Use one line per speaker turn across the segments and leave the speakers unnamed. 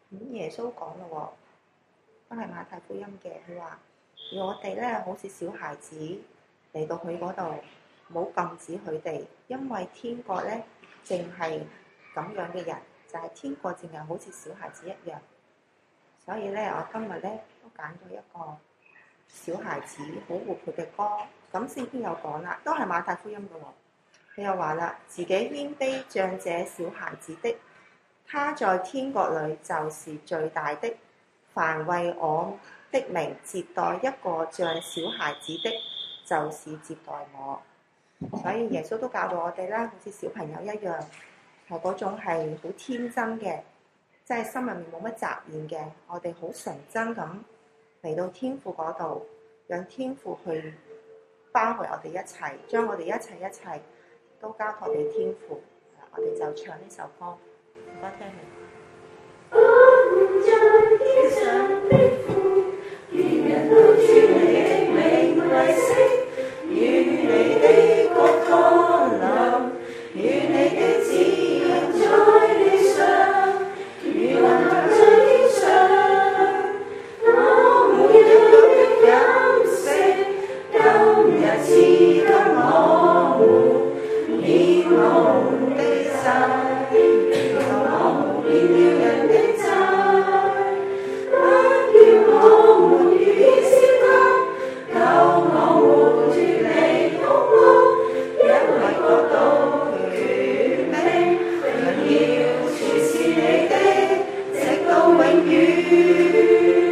咁耶穌講咯喎，都係馬太福音嘅，佢話要我哋咧好似小孩子嚟到佢嗰度，唔好禁止佢哋，因為天國咧淨係咁樣嘅人，就係天國淨係好似小孩子一樣。所以咧，我今日咧都揀咗一個小孩子好活潑嘅歌。咁聖經有講啦，都係馬太福音嘅喎。佢又話啦，自己謙卑像這小孩子的，他在天國裡就是最大的。凡為我的名接待一個像小孩子的，就是接待我。所以耶穌都教導我哋啦，好似小朋友一樣，係嗰種係好天真嘅，即係心入面冇乜雜念嘅。我哋好純真咁嚟到天父嗰度，讓天父去包圍我哋一切，將我哋一切都交託俾天父。我哋就唱呢首歌，唔該聽你。
在天上的父，願人都尊你的名為聖，願你的國降臨，願你的旨意行在地上，如行在天上。我每日的飲食，今日賜給我們，免我們的債，讓我們免了人的債，不叫我們遇見試探，救我們脫離兇惡，因為國度、權柄、榮耀，全是你的，直到永遠。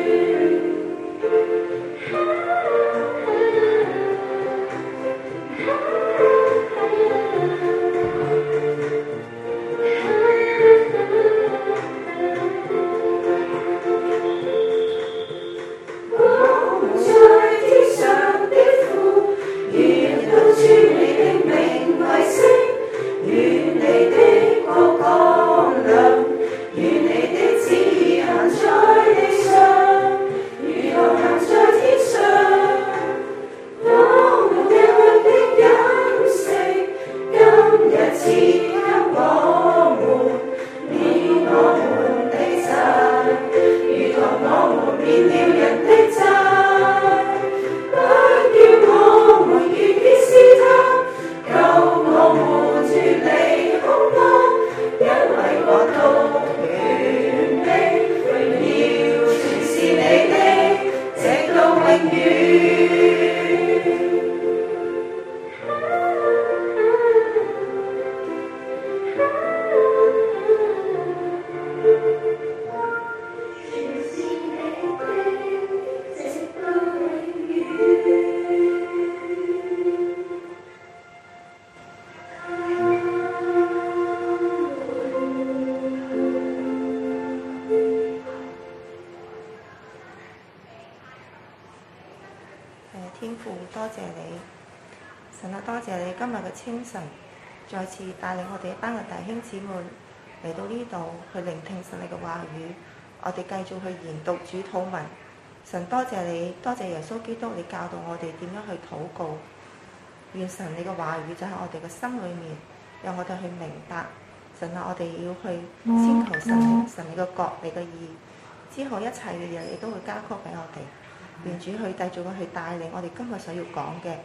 天父，多謝你，神啊，多謝你今日嘅清晨，再次帶領我哋一班嘅弟兄姊妹嚟到呢度去聆聽神你嘅話語，我哋繼續去研讀主禱文。神多謝你，多謝耶穌基督，你教導我哋點樣去禱告。願神你嘅話語就喺我哋嘅心裏面，讓我哋去明白。神啊，我哋要去先求神你嘅國，你嘅義，之後一切嘅嘢你都會加給俾我哋。願主去繼續去帶領我哋今日所要講嘅，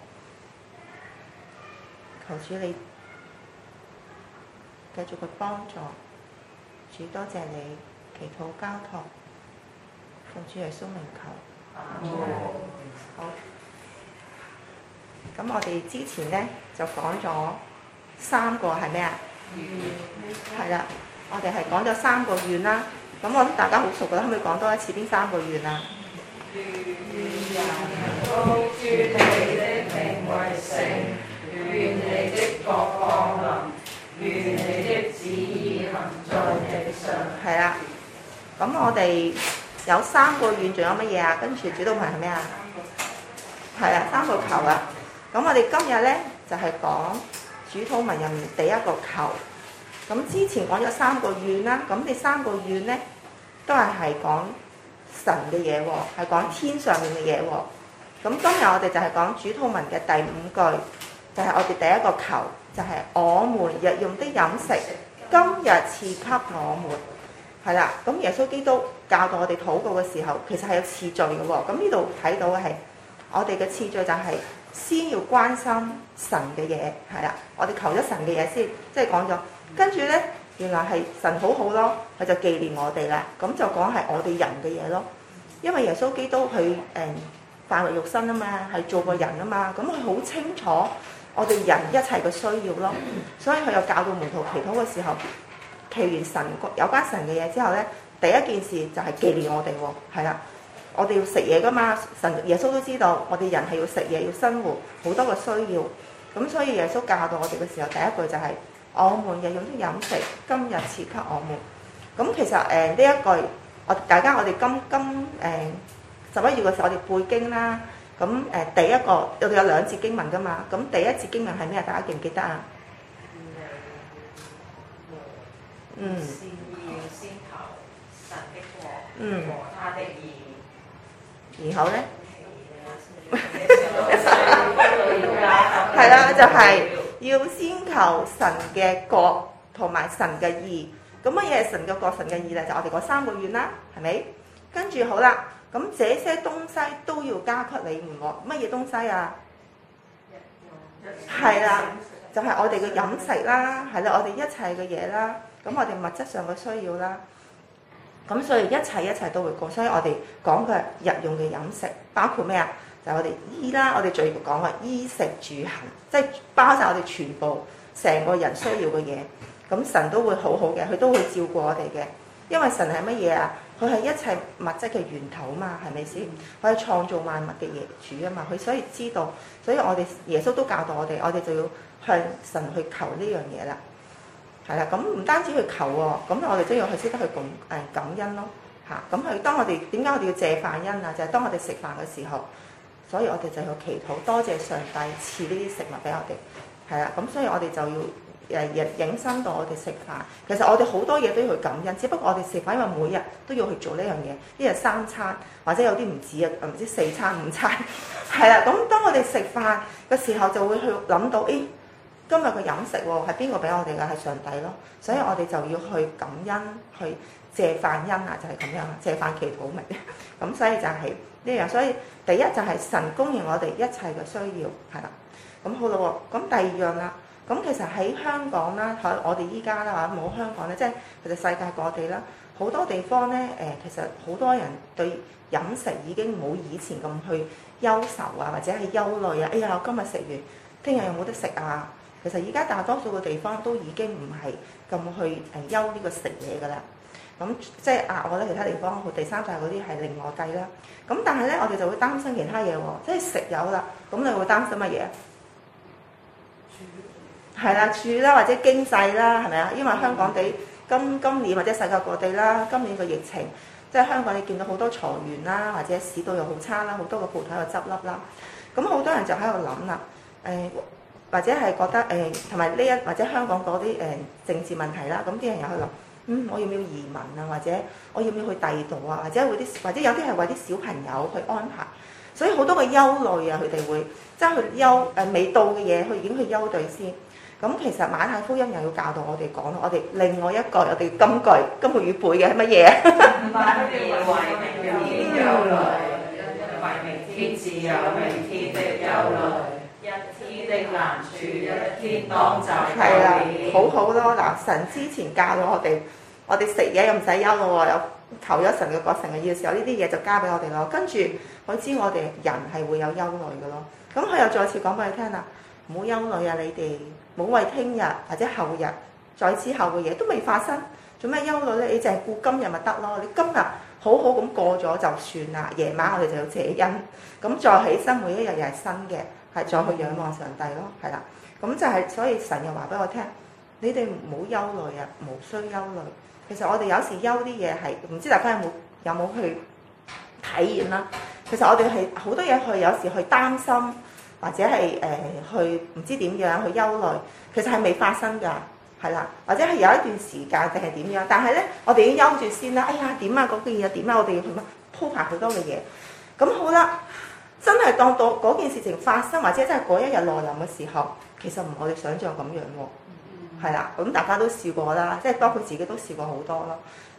求主你繼續去幫助。主多謝你，祈禱交託，奉主耶穌名求。好。咁我哋之前呢，就講咗3個係咩啊？係啦，我哋係講咗3個願啦。咁我諗大家好熟㗎啦，可唔可以講多一次邊3個願啊？
願人都尊你的名為聖，願你的國降臨，願你的旨意行在地上。
係啦，咁我哋有3個願，仲有乜嘢啊？跟住主禱文係咩啊？係啊，3個求啊！咁我哋今日咧就係講主禱文入面第一個求。咁之前講咗3個願啦，咁呢3個願咧都係講神嘅嘢喎，係講天上面嘅嘢喎。咁今日我哋就係講主禱文嘅第5句，就係我哋第一個求，就係我們日用的飲食，今日賜給我們。 係啦，咁耶穌基督教導我哋禱告嘅時候，其實係有次序嘅喎。咁呢度睇到嘅係我哋嘅次序就係先要關心神嘅嘢，係啦，我哋求咗神嘅嘢先，即係講咗，跟住咧原來係神好好咯，佢就紀念我哋啦。咁就講係我哋人嘅嘢咯，因為耶穌基督佢化為肉身啊嘛，係做過人啊嘛，咁佢好清楚我哋人一切嘅需要咯，所以佢又教導門徒祈禱嘅時候，祈完神有關神嘅嘢之後咧，第一件事就係紀念我哋喎，係啦，我哋要食嘢噶嘛，神耶穌都知道我哋人係要食嘢要生活，好多嘅需要，咁所以耶穌教導我哋嘅時候，第一句就係、我們日用的飲食，今日賜給我們。咁其實呢一句，大家我哋今11月嘅時候，我哋背經啦。咁第一個我哋有2節經文噶嘛。咁第一節經文係咩？大家記唔記得啊？
先求神的國和他的義。然後咧，係啦，就係要先求神嘅國同埋神嘅義。咁乜嘢係神嘅國、神嘅義咧？就我哋嗰3個願啦，係咪？跟住好啦，咁這些東西都要加給你們喎。乜嘢東西啊？係啦，就係我哋嘅飲食啦，係啦，我哋一切嘅嘢啦。咁我哋物質上嘅需要啦。咁所以一切都會過。所以我哋講嘅日用嘅飲食，包括咩啊？就係我哋衣啦，我哋最講嘅衣食住行，即係包晒我哋全部成個人需要嘅嘢。咁神都會好好嘅，佢都會照顧我哋嘅。因為神係乜嘢啊？佢係一切物質嘅源頭嘛，係咪先？佢係創造萬物嘅業主啊嘛，佢所以知道，所以我哋耶穌都教導我哋，我哋就要向神去求呢樣嘢啦。係啦，咁唔單止去求喎，咁我哋都要去識得去感恩咯嚇。咁佢當我哋點解我哋要謝飯恩啊？就係當我哋食飯嘅時候，所以我哋就要祈禱，多謝上帝賜呢啲食物俾我哋。係啦，咁所以我哋就要引申到我哋食飯。其實我哋好多嘢都要去感恩，只不過我哋食飯，因為每日都要去做呢樣嘢，一日3餐，或者有啲唔止啊，唔知4餐5餐。係啦，咁當我哋食飯嘅時候，就會去諗到，今日嘅飲食喎係邊個俾我哋㗎？係上帝咯，所以我哋就要去感恩，去謝飯恩啊，就係咁樣，謝飯祈禱咪。咁所以就係呢樣，所以第一就係神供應我哋一切嘅需要，係啦。咁好啦喎，咁第二樣啦，咁其實喺香港啦，我哋依家啦嚇冇香港咧，即係其實世界各地啦，好多地方咧其實好多人對飲食已經冇以前咁去憂愁啊，或者係憂慮啊。哎呀，我今日食完，聽日有冇得食啊？其實而家大多數嘅地方都已經唔係咁去憂呢個食嘢㗎啦。咁即係額外咧，其他地方第三世嗰啲係另外計啦。咁但係咧，我哋就會擔心其他嘢喎，即係食有啦，咁你會擔心乜嘢？係啦，住啦或者經濟啦，係咪啊？因為香港地今年或者世界各地啦，今年個疫情，即係香港你見到好多裁員啦，或者市道又好差啦，好多個鋪頭又執笠啦。咁好多人就喺度諗啦，或者係覺得同埋呢一或者香港嗰啲政治問題啦，咁啲人又去諗，我要唔要移民啊？或者我要唔要去第二度啊？或者有啲係為啲小朋友去安排，所以好多嘅憂慮啊，佢哋會即係去未到嘅嘢，佢已經去憂慮先。咁其實馬太福音又要教導我哋講，我哋另外一個我哋今個月背嘅係乜嘢？ 不要為明天憂慮，為明天自有明天的憂慮。一天的難處，一天當就夠了。
好好咯。嗱，神之前教咗我哋食嘢又唔使憂咯喎，有求咗神嘅國神嘅義嘅時候，呢啲嘢就交俾我哋咯。跟住佢知我哋人係會有憂慮嘅咯。咁佢又再次講俾你聽啦，唔好憂慮啊！你哋唔好為聽日或者後日再之後嘅嘢都未發生，做咩憂慮咧？你淨係顧今日咪得咯。你今日好好咁過咗就算啦。夜晚我哋就要謝恩，咁再起身每一日又係新嘅。係再去仰望上帝咯，係啦，咁就係所以神又話俾我聽，你哋唔好憂慮啊，無需憂慮。其實我哋有時憂啲嘢係唔知大家有冇去體驗啦。其實我哋係好多嘢有時去擔心，或者係去唔知點樣去憂慮，其實係未發生㗎，係啦，或者係有一段時間定係點樣，但係咧我哋已經憂住先啦。哎呀點啊嗰件嘢點啊，我哋要去鋪排好多嘅嘢。咁好啦。真係當到嗰件事情發生，或者真係嗰一日來臨嘅時候，其實唔係我哋想象咁樣喎，係啦。咁大家都試過啦，即係包括自己都試過好多咯。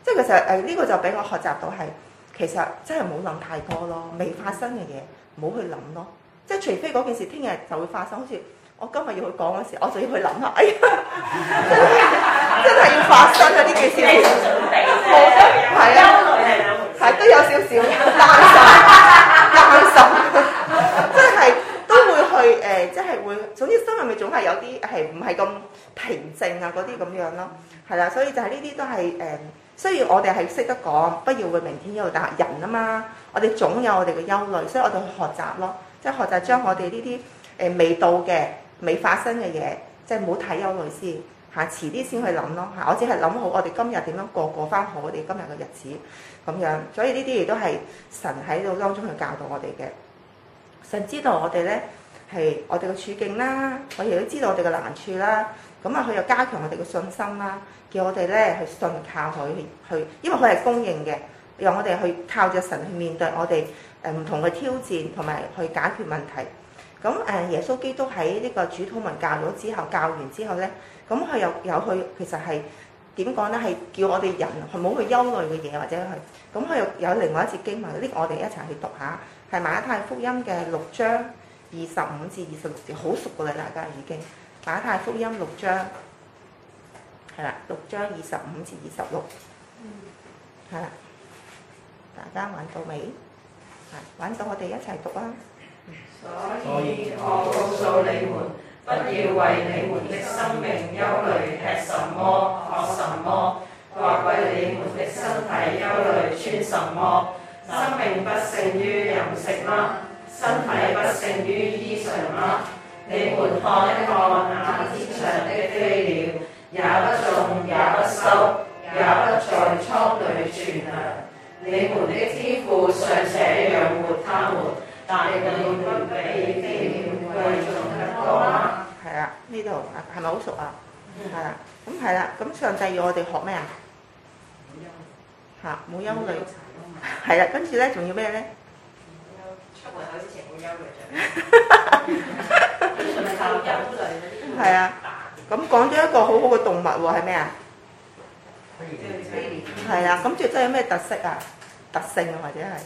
即係其實呢個就俾我學習到係，其實真係冇諗太多咯，未發生嘅嘢唔好去諗咯。即係除非嗰件事聽日就會發生，好似我今日要去講嗰時，我就要去諗下，哎呀，真係要發生啊！呢件事冇得係啊，係都有少少擔心，即係都會去即係會，總之心入面總係有啲係唔係咁平靜啊嗰啲咁樣咯，係啦，所以就係呢啲都係雖然我哋係識得講，不要為明天憂慮，但係人啊嘛，我哋總有我哋嘅憂慮，所以我哋去學習咯，即係學習將我哋呢啲未到嘅、未發生嘅嘢，即係唔好睇憂慮先嚇，遲啲先去諗咯嚇。我只係諗好我哋今日點樣過翻好我哋今日嘅日子咁樣，所以呢啲亦都係神喺度當中去教導我哋嘅。神知道我哋咧係我哋嘅處境啦，我亦都知道我哋嘅難處啦。咁啊，佢又加強我哋嘅信心啦，叫我哋咧去信靠佢去，因為佢係公認嘅，讓我哋去靠着神去面對我哋唔同嘅挑戰，同埋去解決問題。咁耶穌基督喺呢個主禱文教咗之後，教完之後咧，咁佢又有去，其實係點講咧？係叫我哋人唔好去憂慮嘅嘢，或者去咁佢又有另外一節經文，呢個我哋一齊去讀下，係馬太福音嘅6章25至26節，好熟㗎啦，大家已經。馬太福音6章，係啦，6章25至26，係啦，大家揾到未？係揾到，我哋一齊讀啦。
所以我告訴你們，不要為你們的生命憂慮，吃什麼，喝什麼，或為你們的身體憂慮，穿什麼。生命不勝於飲食嗎？身體不勝於衣裳嗎？你們看一看那天上的飛鳥，也不種也不收，也不在倉裏存糧，你們的天父尚且養活他們，但你們不比飛鳥貴重得多嗎？
係啊，呢度係咪好熟啊？係啦，咁係啦，咁上帝要我哋學咩啊？嚇，冇憂慮。係啦，跟住咧仲要咩咧？
出門口之前冇憂慮啫。
係啊，咁講咗一個好好嘅動物喎，係咩啊？係啊，咁雀仔有咩特色啊？特性啊，或者係？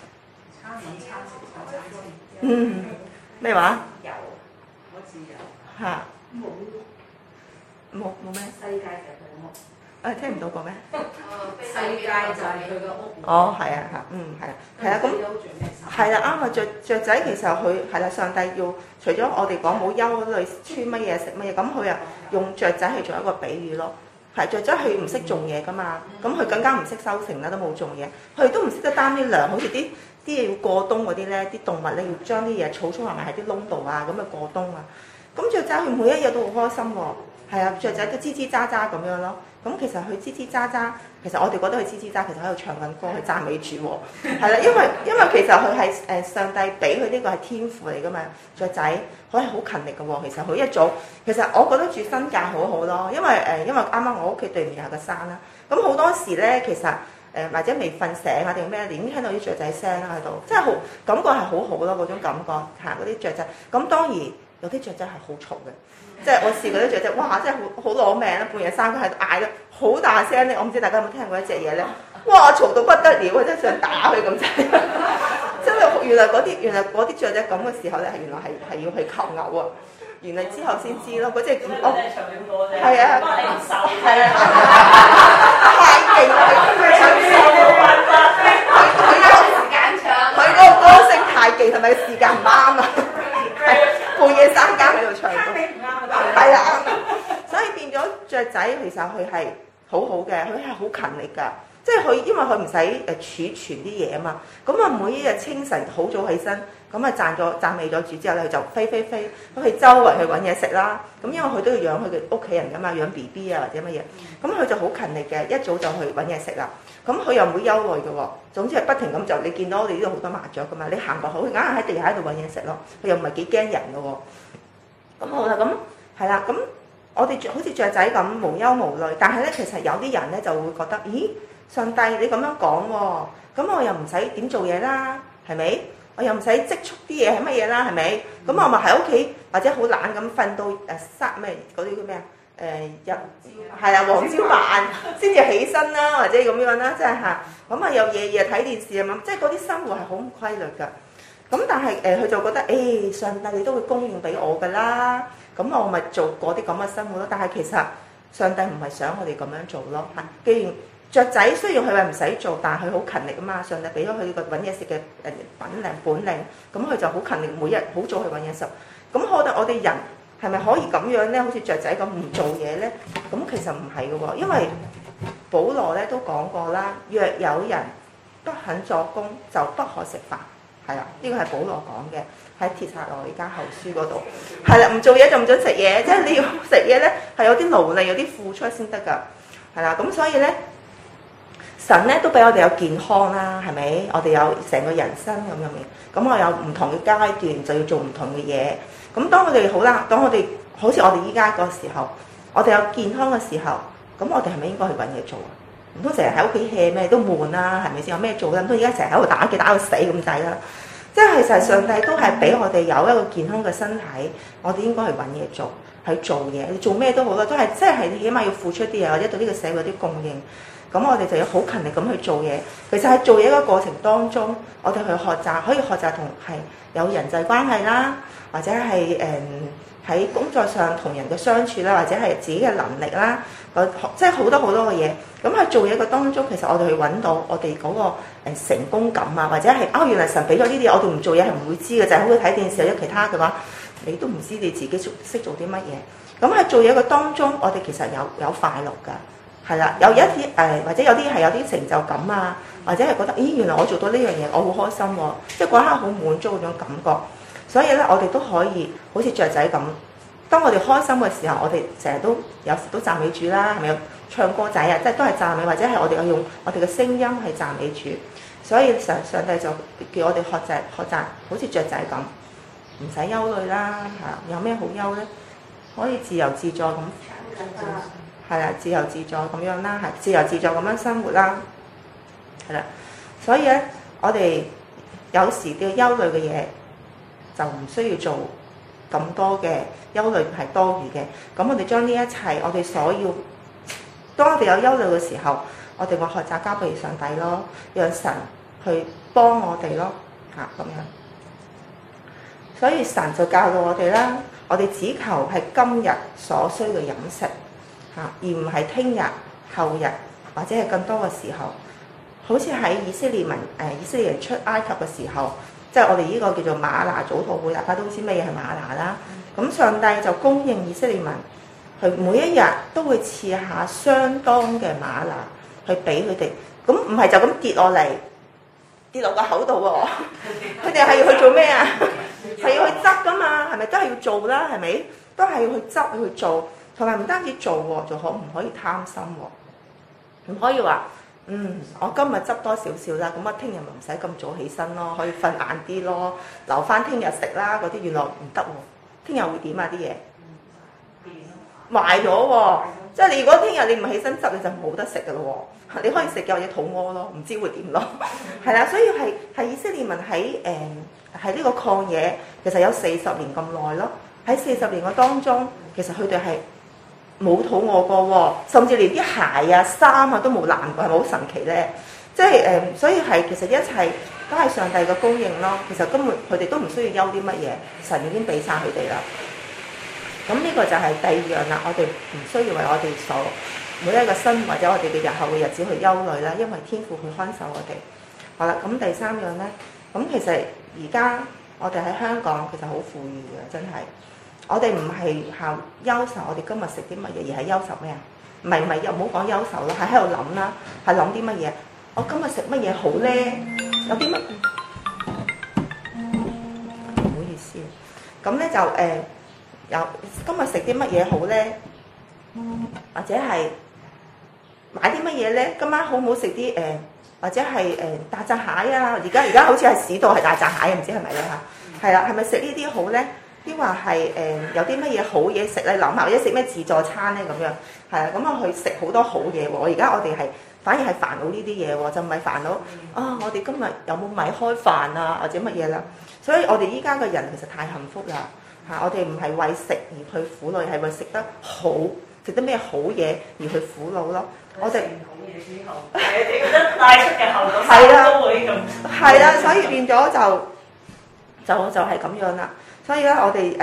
咩話？
有，我自由。
嚇。冇咩？
世界就係佢屋。
聽唔到個咩？
世界就係佢個屋。
哦，係啊，係啊，咁係啦，啱啊！雀仔其實佢係啦，上帝要除咗我哋講冇憂慮，穿乜嘢食乜嘢，咁佢又用雀仔去做一個比喻咯。係雀仔佢唔識種嘢噶嘛，咁佢更加唔識收成啦，都冇種嘢，佢都唔識得擔啲糧，好似啲嘢要過冬嗰啲咧，啲動物咧要將啲嘢儲埋埋喺啲窿度啊，咁啊過冬啊。咁雀仔佢每一日都好開心喎，係啊，雀仔都吱吱喳喳咁樣咯。咁其實佢吱吱喳喳，其實我哋覺得佢吱吱喳，其實喺度唱緊歌，去讚美主喎。係啦，因為其實佢係上帝俾佢呢個係天賦嚟噶嘛，雀仔佢係好勤力嘅喎。其實佢一早，其實我覺得住新界好好咯，因為啱啱我屋企對面有個山啦。咁好多時咧，其實或者未瞓醒啊定咩，已經聽到啲雀仔聲啦喺度，真係好感覺係好好咯，嗰種感覺嚇嗰啲雀仔。咁當然有啲雀仔係好嘈嘅。即係我試過啲雀仔，哇！真係好攞命啦！半夜三更喺度嗌得好大聲咧，我唔知大家有冇聽過一隻嘢咧？哇！嘈到不得了啊！真係想打佢咁滯。真係原來嗰啲雀仔咁嘅時候咧，原來係要去求偶啊！原來之後先知咯，嗰隻我係啊，係啊，太勁啦！佢嗰個歌聲太勁，係咪時間唔啱啊？半夜三更喺度唱歌，係啊，所以變咗雀仔其實佢係好好嘅，佢係好勤力㗎，即係佢因為佢唔使儲存啲嘢啊嘛，咁啊每一日清晨好早起身，咁啊讚美咗主之後咧，佢就飛咁去周圍去揾嘢食啦。咁因為佢都要養佢嘅屋企人㗎嘛，養 BB 啊或者乜嘢，咁佢就好勤力嘅，一早就去揾嘢食啦。咁佢又唔會憂慮嘅喎，總之係不停咁就你見到我哋呢度好多麻雀㗎嘛，你行過好，佢硬係喺地下喺度揾嘢食咯，佢又唔係幾驚人嘅喎。咁好啦，咁係啦，咁我哋好似雀仔咁無憂無慮，但係咧其實有啲人咧就會覺得，咦，上帝你咁樣講喎，咁我又唔使點做嘢啦，係咪？我又唔使積蓄啲嘢係乜嘢啦，係咪？咁我咪喺屋企或者好懶咁瞓到咩嗰啲叫咩啊？ 係啊黃朝晚先至起身啦，或者咁樣啦，即係嚇咁啊又夜睇電視啊嘛，即係嗰啲生活係好唔規律㗎。咁但係佢就覺得上帝你都會供應俾我㗎啦，咁我咪做嗰啲咁嘅生活咯。但係其實上帝唔係想我哋咁樣做咯。既然雀仔雖然佢話唔使做，但係佢好勤力啊嘛，上帝俾咗佢個揾嘢食嘅本領，咁佢就好勤力，每日好早去揾嘢食。咁我哋人係咪可以咁樣咧？好似雀仔咁唔做嘢咧？咁其實唔係嘅喎，因為保羅咧都講過啦，若有人不肯作工，就不可食飯。係啦，呢個係保羅講嘅，喺帖撒羅尼迦後書嗰度。係啦，唔做嘢就唔准食嘢，即係你要食嘢咧係有啲勞力、有啲付出先得㗎。係啦，咁所以咧，神咧都俾我哋有健康啦，係咪？我哋有成個人生咁樣嘅，咁我有唔同嘅階段就要做唔同嘅嘢。咁當我哋好啦，當我哋好似我哋依家個時候，我哋有健康嘅時候，咁我哋係咪應該去揾嘢做啊？唔通成日喺屋企 hea 咩都悶啦，係咪先？有咩做咧？唔通而家成日喺度打機打到死咁滯啦？即係其實上帝都係俾我哋有一個健康嘅身體，我哋應該去揾嘢做，去做嘢。你做咩都好啦，都係即係起碼要付出啲嘢，或者對呢個社會有啲供應。咁我哋就要好勤力咁去做嘢。其實喺做嘢嘅過程當中，我哋去學習，可以學習同係有人際關係啦，或者係喺工作上同人嘅相處啦，或者係自己嘅能力啦，即係好多好多嘅嘢。咁喺做嘢嘅當中，其實我哋去揾到我哋嗰個成功感啊，或者係原來神俾咗呢啲嘢，我哋唔做嘢係唔會知嘅，就係好似睇電視或者其他嘅話，你都唔知你自己識做啲乜嘢。咁喺做嘢嘅當中，我哋其實有快樂㗎，係啦，有一啲或者有啲係有啲成就感啊，或者係覺得原來我做到呢樣嘢，我好開心喎，即係嗰刻好滿足嗰種感覺。所以咧，我哋都可以好似雀仔咁，當我哋開心嘅時候，我哋成日都有時都讚美主啦，係咪？唱歌仔啊，即係都係讚美，或者係我哋用我哋嘅聲音去讚美主。所以上帝就叫我哋學習，好似雀仔咁，唔使憂慮啦。有咩好憂咧？可以自由自在咁，係啦，自由自在咁樣啦，係自由自在咁樣生活啦，係啦。所以咧，我哋有時嘅憂慮嘅嘢，就唔需要做咁多嘅憂慮，係多餘嘅。咁我哋將呢一切，我哋所要，當我哋有憂慮嘅時候，我哋會學習交俾上帝咯，讓神去幫我哋咯，咁樣。所以神就教導我哋啦，我哋只求係今日所需嘅飲食，而唔係聽日、後日或者係更多嘅時候。好似喺以色列人出埃及嘅時候。即係我哋呢個叫做嗎哪早禱會，大家都知咩嘢係嗎哪啦。咁上帝就供應以色列民，佢每一日都會賜下相當嘅嗎哪去俾佢哋。咁唔係就咁跌落嚟，跌落個口度喎。佢哋係要去做咩啊？係要去執噶嘛？係咪都係要做啦？係咪都係要去執去做？同埋唔單止做喎，仲唔可以貪心喎？唔可以話。我今日執多少少啦，咁我聽日咪唔使咁早起身咯，可以瞓晏啲咯，留翻聽日食啦嗰啲，原來唔得喎，聽日會點啊啲嘢？壞咗喎，即係你如果聽日你唔起身執，你就冇得食噶咯喎，你可以食嘅或者肚屙咯，唔知會點咯，係啦，所以係以色列民喺呢個曠野，其實有40年咁耐咯，喺40年嘅當中，其實佢哋係冇肚餓過喎，甚至連啲鞋啊、衫啊都冇爛過，係咪好神奇咧？即係所以係其實一切都係上帝嘅供應咯。其實根本佢哋都唔需要憂啲乜嘢，神已經俾晒佢哋啦。咁呢個就係第二樣啦，我哋唔需要為我哋所每一個生或者我哋嘅日後嘅日子去憂慮啦，因為天父去看守我哋。好啦，咁第三樣咧，咁其實而家我哋喺香港其實好富裕嘅，真係。我哋唔係靠憂愁，我哋今日食啲乜嘢，而係憂愁咩啊？唔係，又唔好講憂愁咯，係喺度諗啦，係諗啲乜嘢？我今日食乜嘢好咧？有啲乜？唔好意思，咁咧就有今日食啲乜嘢好咧？或者係買啲乜嘢咧？今晚好唔好食啲或者係大閘蟹啊？而家好似係市道係大閘蟹，唔知係咪咧嚇？係啦，係咪食呢啲好咧？抑或係有啲乜嘢好嘢食咧？諗下或者食咩自助餐咧咁樣，係啊，咁我去食好多好嘢喎。而家我哋係反而係煩惱呢啲嘢喎，就唔係煩惱我哋今日有冇米開飯啊，或者乜嘢啦？所以我哋依家嘅人其實太幸福啦嚇！我哋唔係為食而去苦惱，係為食得好食啲咩好嘢而去苦惱咯。我哋
好嘢之後，你覺得帶出嘅後果都會咁。
係啦，所以變咗就係咁樣啦。所以咧，我哋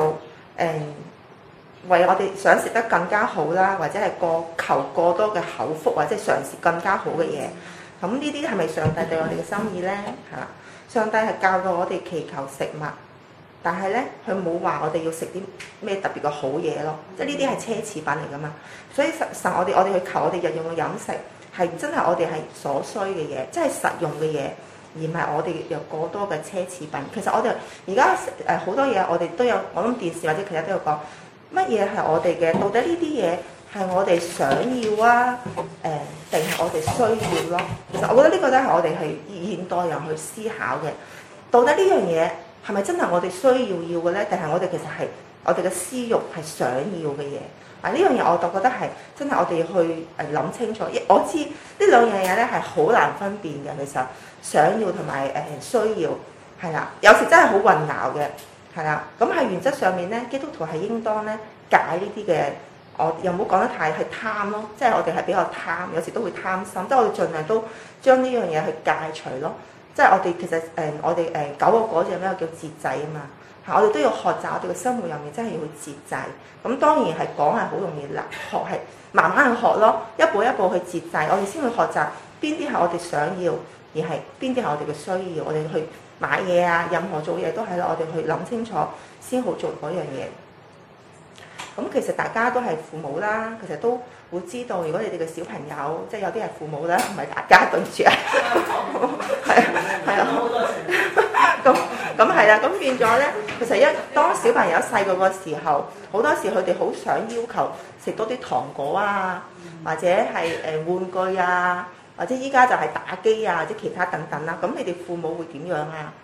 為我哋想食得更加好啦，或者係求過多嘅口福，或者係嘗試更加好嘅嘢。咁呢啲係咪上帝對我哋嘅心意咧？嚇！上帝係教導我哋祈求食物，但係咧佢冇話我哋要食啲咩特別嘅好嘢咯。即係呢啲係奢侈品嚟噶嘛。所以實我哋去求我哋日用嘅飲食係真係我哋係所需嘅嘢，即係實用嘅嘢，而唔係我哋有過多嘅奢侈品。其實我哋而家好多嘢我哋都有，我諗電視或者其他都有講。乜嘢係我哋嘅？到底呢啲嘢係我哋想要啊？定係我哋需要咯？其實我覺得呢個都係我哋係現代人去思考嘅。到底呢樣嘢係咪真係我哋需要嘅咧？定係我哋其實係我哋嘅私慾係想要嘅嘢？啊，呢樣嘢我就覺得係真係我哋要去諗清楚。我知呢兩樣嘢咧係好難分辨嘅，其實想要同埋需要係啦，有時真係好混淆嘅。係啦，咁喺原則上面咧，基督徒係應當咧戒呢啲嘅，我又冇講得太係貪咯，即係我哋係比較貪，有時都會貪心，即係我哋盡量都將呢樣嘢去戒除咯。即係我哋其實我哋九個果子有咩叫節制啊嘛，我哋都要學習，我哋嘅生活入面真係要去節制。咁當然係講係好容易啦，學係慢慢去學咯，一步一步去節制，我哋先會學習邊啲係我哋想要，而係邊啲係我哋嘅需要，我哋去買嘢啊，任何做嘢都係啦，我哋去諗清楚先好做嗰樣嘢。咁其實大家都係父母啦，其實都會知道，如果你哋嘅小朋友，即係有啲係父母啦，唔係大家對唔住啊，係啊，咁係啦，咁變咗咧，其實當小朋友細個嘅時候，好多時佢哋好想要求食多啲糖果啊，或者係玩具啊。或者依家就係打機啊，或者其他等等啦。咁你哋父母會點樣啊？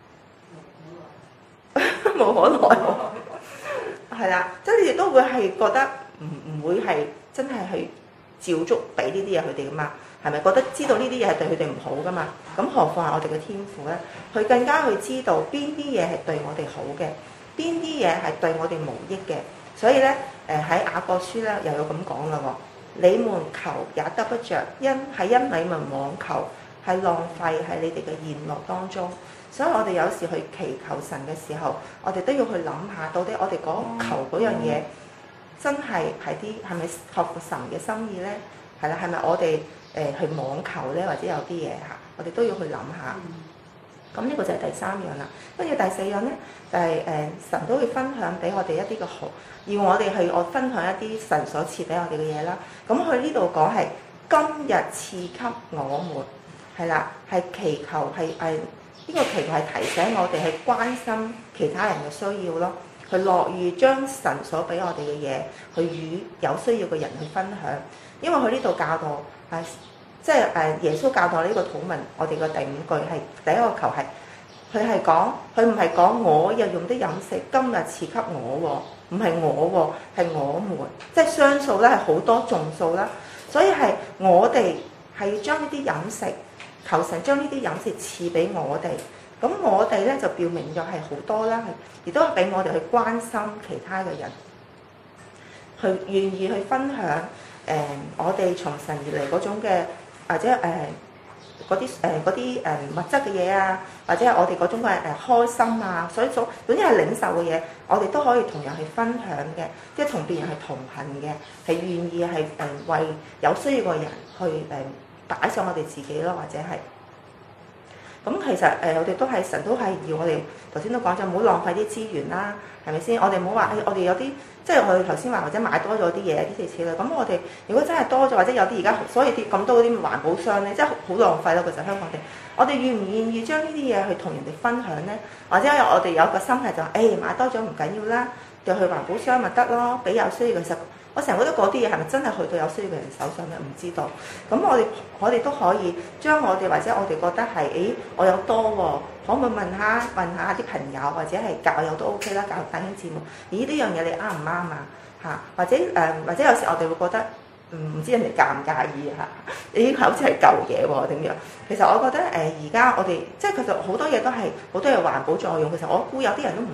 冇可能，係啦，即係你哋都會係覺得唔會係真係去照足俾呢啲嘢佢哋噶嘛？係咪覺得知道呢啲嘢係對佢哋唔好噶嘛？咁何況係我哋嘅天父咧？佢更加去知道邊啲嘢係對我哋好嘅，邊啲嘢係對我哋無益嘅。所以咧，喺雅各書咧又有咁講啦喎。你們求也得不着，因你們妄求，係浪費喺你哋嘅宴樂當中。所以我哋有時去祈求神嘅時候，我哋都要去諗下，到底我哋求嗰樣嘢真係係咪合乎神嘅心意咧？係啦，係咪我哋去妄求咧？或者有啲嘢嚇，我哋都要去諗下。咁呢個就係第三樣啦。跟住第四樣咧，就係神都會分享俾我哋一啲嘅好，要我哋去分享一啲神所賜俾我哋嘅嘢啦。咁佢呢度講係今日賜給我們，係啦，係祈求係呢個祈求係提醒我哋去關心其他人嘅需要咯，去樂意將神所俾我哋嘅嘢去與有需要嘅人去分享。因為佢呢度教導係。即係耶穌教導呢個禱文，我哋嘅第五句係第一個求係，佢係講，佢唔係講我日用的飲食今日賜給我喎，唔係我喎，係我們，即係雙數咧係好多眾數啦，所以係我哋係將呢啲飲食，求神將呢啲飲食賜俾我哋，咁我哋咧就表明咗係好多啦，亦都係俾我哋去關心其他嘅人，去願意去分享我哋從神而嚟嗰種嘅。或者嗰啲物質嘅嘢啊，或者係我哋嗰種嘅開心啊，總之係領受嘅嘢，我哋都可以同人去分享嘅，即係同別人係同行嘅，係願意係為有需要嘅人去擺上我哋自己咯，或者係咁其實我哋都係神都係要我哋頭先都講咗，唔好浪費啲資源啦，係咪先？我哋唔好話我哋有啲。即係我哋頭先話，或者買多咗啲嘢，啲類似啦。咁我哋如果真係多咗，或者有啲而家，所以啲咁多嗰啲環保箱咧，真係好浪費咯。其實香港地，我哋願唔願意將呢啲嘢去同人哋分享咧？或者我哋有個心態就話，買多咗唔緊要啦，就去環保箱咪得咯，俾有需要嘅。其實我成日覺得嗰啲嘢係咪真係去到有需要嘅人手上咧？唔知道。咁我哋都可以將我哋或者我哋覺得係，我有多喎，可唔可以問下啲朋友或者係教友都 OK 啦，教弟兄姊妹。咦，呢樣嘢你啱唔啱啊？嚇，或者有時我哋會覺得唔知人哋介唔介意嚇？咦，好似係舊嘢喎點樣？其實我覺得而家我哋即係其實好多嘢都係好多嘢環保作用。其實我估有啲人都唔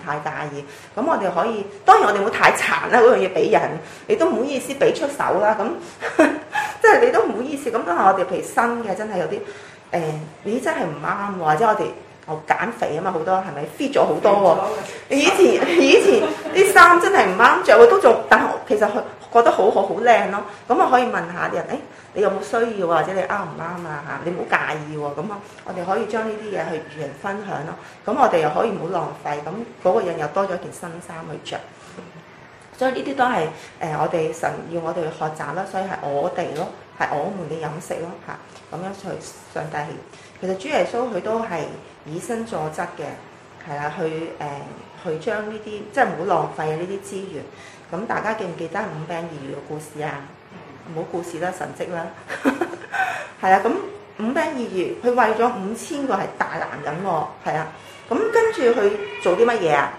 太介意。咁我哋可以，當然我哋唔好太殘啦，嗰樣嘢俾人，你都唔好意思俾出手啦。咁即係你都唔好意思。咁當係我哋譬如新嘅，真係有啲咦真係唔啱喎，或者我哋減肥啊嘛，好多係咪 fit 咗好多喎？以前啲衫真係唔啱着，都仲，但係其實佢覺得好好靚咯。咁我可以問下啲人，你有冇需要或者你啱唔啱啊？嚇，你唔好介意喎。咁我哋可以將呢啲嘢去與人分享咯。咁我哋又可以唔好浪費，咁嗰個人又多咗一件新衫去着。所以呢啲都係我哋神要我哋去學習啦。所以係我哋咯，係我們嘅飲食咯嚇。咁樣去上帝係，其實主耶穌佢都係以身作則嘅，係啦，去將呢啲即係唔好浪費呢啲資源。咁大家記唔記得五餅二魚嘅故事啊？唔好故事啦，神蹟啦，係啊。咁五餅二魚，佢餵咗5000個係大男人喎，係啊。咁跟住佢做啲乜嘢啊？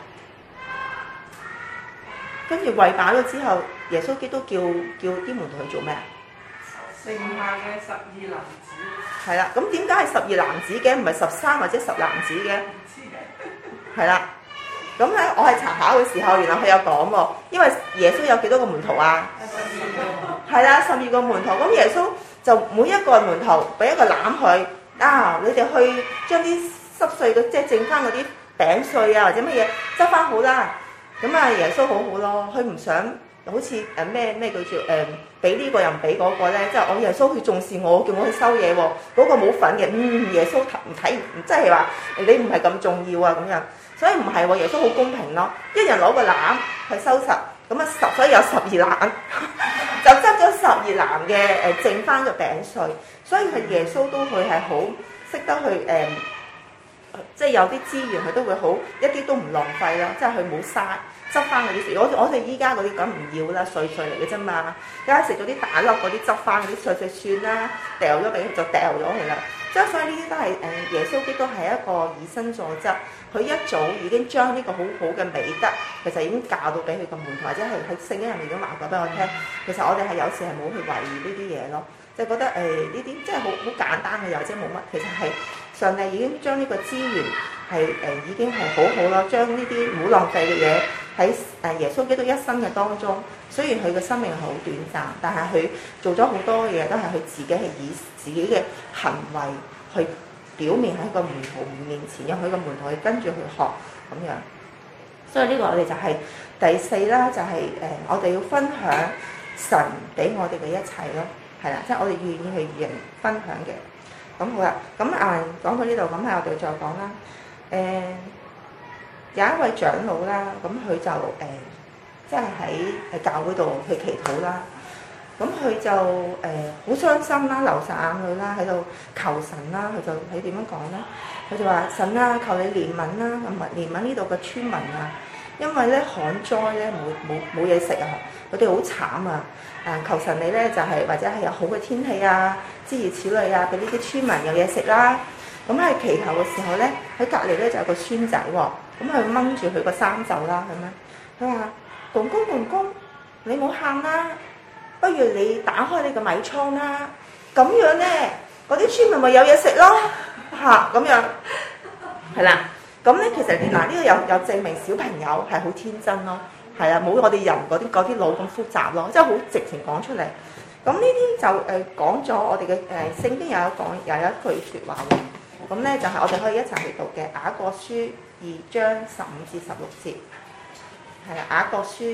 跟住餵飽咗之後，耶穌基督叫啲門徒去做咩啊？
剩下嘅12男子。
係啦，咁點解係12男子嘅，唔係13或者10男子嘅？係啦，咁咧我係查考嘅時候，原來佢有講喎，因為耶穌有幾多個門徒啊？12個。係啦，12個門徒，咁耶穌就每一個門徒俾一個籃佢，你哋去將啲濕碎嘅，即係剩翻嗰啲餅碎啊或者乜嘢執翻好啦。咁啊，耶穌好好咯，佢唔想好似咩叫做俾呢個又唔俾嗰個咧，即係我耶穌佢重視我，叫我去收嘢喎，嗰個冇份嘅，耶穌睇唔即係話你唔係咁重要啊咁樣，所以唔係喎，耶穌好公平咯，一人攞個籃去收拾，咁啊所以有12籃，就執咗12籃嘅剩翻嘅餅碎，所以佢耶穌都佢係好識得去即係有啲資源佢都會好一啲都唔浪費咯，即係佢冇嘥。執翻嗰啲，我哋依家嗰啲咁唔要啦，碎碎嚟嘅啫嘛。而家食咗啲大粒嗰啲，執翻嗰啲碎碎算啦，掉咗俾佢就掉咗佢啦。即係所以呢啲都係耶穌基督係一個以身作則，佢一早已經將呢個好好嘅美德，其實已經教到俾佢個門徒，或者係喺聖經入面已經話過俾我聽。其實我哋係有時係冇去懷疑呢啲嘢咯，即係覺得呢啲即係好簡單嘅，又或者冇乜。其實係上帝已經將呢個資源係已經係好好咯，將呢啲唔好浪費嘅嘢。喺耶穌基督一生嘅當中，雖然佢嘅生命係好短暫，但係佢做咗好多嘢，都係佢自己係以自己嘅行為去表面喺個門徒面前，讓佢個門徒去跟住去學咁樣。所以呢個我哋就係第4啦，就係我哋要分享神俾我哋嘅一切咯，係啦，即係我哋願意去與人分享嘅。咁好啦，咁講到呢度，咁係我哋再講啦，有一位長老啦，咁佢就即係喺教會度去祈禱啦。咁佢就好傷心啦，流晒眼淚啦，喺度求神啦。佢點樣講咧？佢就話：神啊，求你憐憫啦，同埋憐憫呢度嘅村民啊，因為咧旱災咧冇嘢食啊，佢哋好慘啊！求神你咧就係或者係有好嘅天氣啊，諸如此類啊，俾呢啲村民有嘢食啦。咁喺祈求嘅時候咧，喺隔離咧就有個孫仔喎。咁佢掹住佢個衫袖啦，咁樣佢話：公公，你冇喊啦，不如你打開你個米倉啦，咁樣咧，嗰啲村民咪有嘢食咯，嚇咁樣，係啦。咁咧其實嗱呢個有證明小朋友係好天真咯，係啊，冇我哋人嗰啲腦咁複雜咯，即係好直情講出嚟。咁呢啲就講咗我哋嘅聖經有一句説話喎，咁咧就係我哋可以一齊去讀嘅雅各書2章15至16節，係啦，雅各書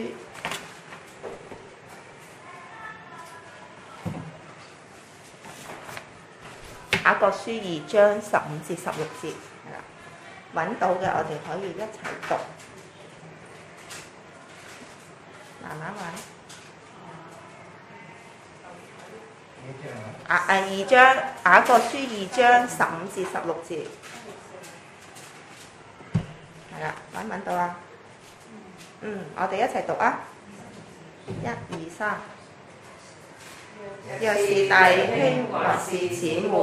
2章15至16節，係啦，揾到嘅我哋可以一齊讀，慢慢揾。雅各書2章15至16節。係啦，揾唔揾到啊？我哋一齊讀啊！1、2、3。若是弟兄或是姊妹，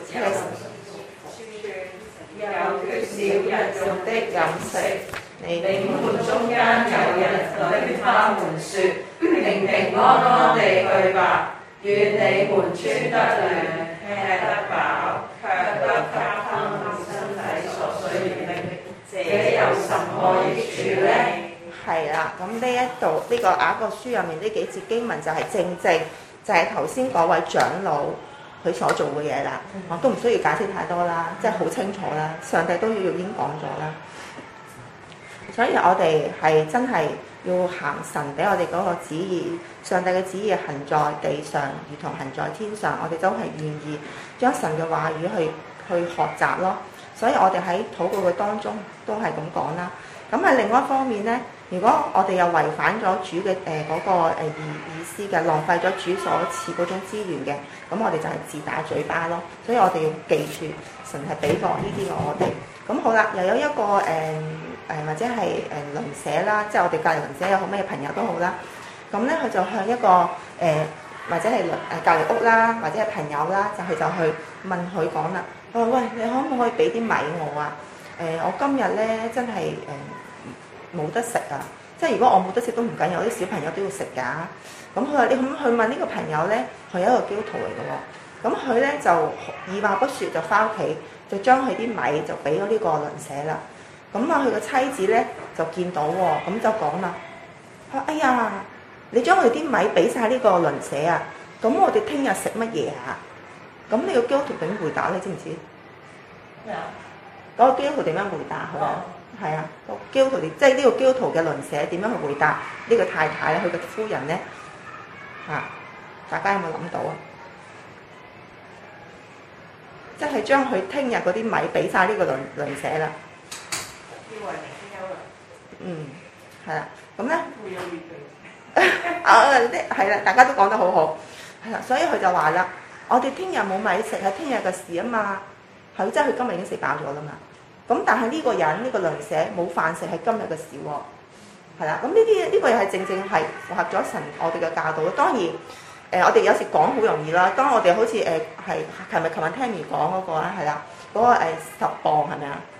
有缺少日用的飲食，你們中間有人對他們說：平平安安地去吧，願你們穿得暖，吃得飽，卻不給他們身體所需要的。這有什麼益處
處理。
係啦，咁呢一度呢個雅各書入面呢幾節經文就係正就係頭先嗰位長老佢所做嘅嘢啦，我都唔需要解釋太多啦，即係好清楚啦，上帝都已經講咗啦。所以我哋係真係要行神俾我哋嗰個旨意，上帝嘅旨意行在地上，如同行在天上。我哋都係願意將神嘅話語去學習咯。所以我哋喺禱告嘅當中都係咁講啦。咁喺另外一方面咧，如果我哋又違反咗主嘅嗰個意思嘅，浪費咗主所賜嗰種資源嘅，咁我哋就係自打嘴巴咯。所以我哋要記住，神係俾過呢啲嘅我哋。咁好啦，又有一個或者係鄰舍啦，即係我哋隔離鄰舍又好，咩朋友都好啦。咁咧佢就向一個或者係隔離屋啦，或者係朋友啦，就去問佢講啦。佢話：喂，你可唔可以俾啲米我啊？我今日咧真係冇得食啊！即係如果我冇得食都唔緊要，啲小朋友都要食㗎。咁佢話：你咁去問呢個朋友咧，佢係一個基督徒嚟嘅喎。咁佢咧就二話不説就翻屋企，就將佢啲米就俾咗呢個鄰舍啦。咁啊，佢個妻子咧就見到喎，咁就講啦：佢話：哎呀，你將佢啲米俾晒呢個鄰舍啊！咁我哋聽日食乜嘢啊？咁呢個基督徒點回答你知唔知？
咩啊？
嗰個基督徒點樣回答佢啊？係啊，個基督徒即係呢個基督徒嘅鄰舍點樣去回答呢個太太咧？佢嘅夫人咧嚇，大家有冇諗到啊？即係將佢聽日嗰啲米俾晒呢個鄰舍啦。
要為明天憂慮。
嗯，係啦，咁咧
會有預備。
係啦，大家都講得好好，係啦，所以佢就話啦：我哋聽日冇米食係聽日嘅事啊嘛，係即係佢今日已經食飽咗啦嘛。咁但係呢個人呢個鄰舍冇飯食係今日嘅事喎，係啦。咁呢個又係正係符合咗神我哋嘅教導。當然我哋有時講好容易啦。當我哋好似係琴日 Tammy 講嗰個啦，係啦，嗰個10磅係咪啊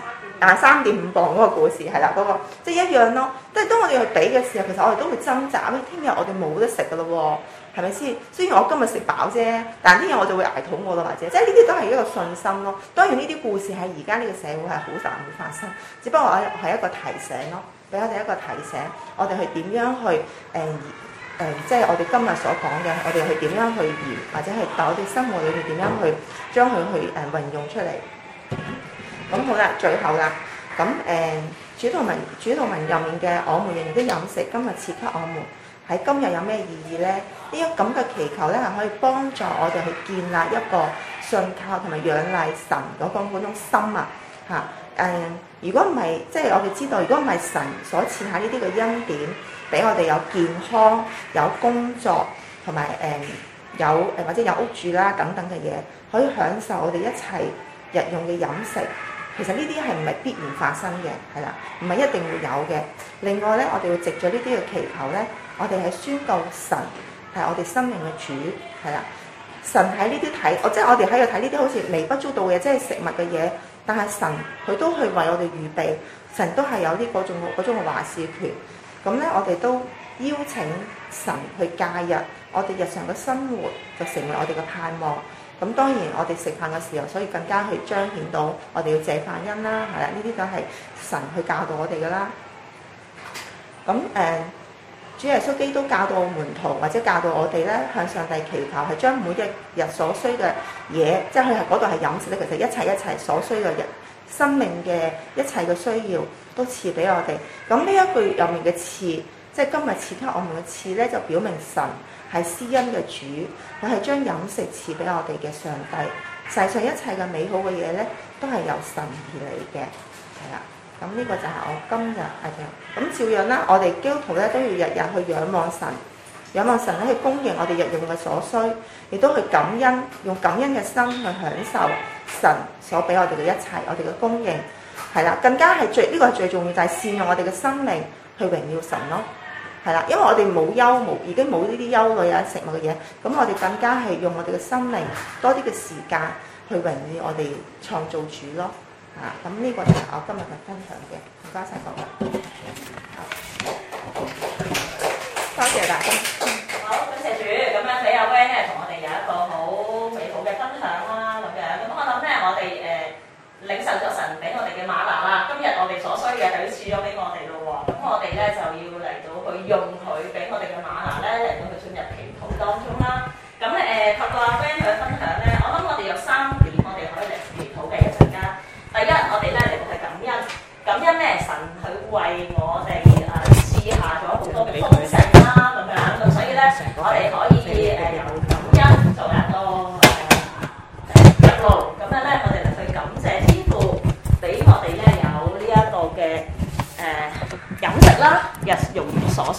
？3.5磅嗰個故事係啦，嗰個即係一樣咯。即係當我哋去俾嘅時候，其實我哋都會掙扎。聽日我哋冇得食噶咯喎，係咪先？雖然我今日食飽啫，但係聽日我就會捱肚餓咯，或者即係呢啲都係一個信心咯。當然呢啲故事喺而家呢個社會係好難會發生，只不過係一個提醒咯，俾我哋一個提醒，我哋去點樣去即係我哋今日所講嘅，我哋去點樣去言，或者係喺我哋生活裏面點樣去將佢去運用出嚟。咁好啦，最後啦，咁主禱文入面嘅我們人人的飲食，今日賜給我們，喺今日有咩意義咧？呢一咁嘅祈求咧，係可以幫助我哋去建立一個信靠同埋仰賴神嗰種心啊嚇。如果唔係，即係我哋知道，如果唔係神所賜下呢啲嘅恩典，俾我哋有健康、有工作同埋有或者有屋住啦等等嘅嘢，可以享受我哋一切日用嘅飲食。其實呢啲係唔係必然發生嘅，係啦，唔係一定會有嘅。另外咧，我哋會藉著呢啲嘅祈求咧，我哋係宣告神係我哋生命嘅主，係啦。神喺呢啲睇，即係我哋喺度睇呢啲好似微不足道嘅，即係食物嘅嘢，但係神佢都去為我哋預備，神都係有啲嗰種嘅話事權。咁咧，我哋都邀請神去介入我哋日常嘅生活，就成為我哋嘅盼望。咁當然，我哋食飯嘅時候，所以更加去彰顯到我哋要謝飯恩啦，係啦，呢啲都係神去教導我哋噶啦。咁主耶穌基督教導門徒或者教導我哋咧，向上帝祈求係將每一日所需嘅嘢，即係佢係嗰度係飲食咧，其實一切所需嘅人生命嘅一切嘅需要都賜俾我哋。咁呢一句入面嘅賜，即係今日賜給我們嘅賜咧，就表明神係施恩嘅主，佢係將飲食賜俾我哋嘅上帝。世上一切嘅美好嘅嘢咧，都係由神而嚟嘅，係啦。咁呢個就係我今日咁照樣啦。我哋基督徒咧都要日日去仰望神，仰望神咧去供應我哋日用嘅所需，亦都去感恩，用感恩嘅心去享受神所俾我哋嘅一切，我哋嘅供應係啦。更加係呢個係最重要，就係善用我哋嘅生命去榮耀神咯。係啦，因為我哋已經冇呢啲憂慮啊食物嘅嘢，咁我哋更加係用我哋嘅生命多啲嘅時間去榮耀我哋創造主咯。咁呢個就係我今日嘅分享嘅，唔該晒各位。多謝大家。
好，感謝主。咁樣睇阿 Van 咧，同我哋有一個好美好嘅分享啦，咁樣。咁我諗咧，我哋領受咗神俾我哋嘅嗎哪啦，今日我哋所需嘅就要賜咗俾我哋咯。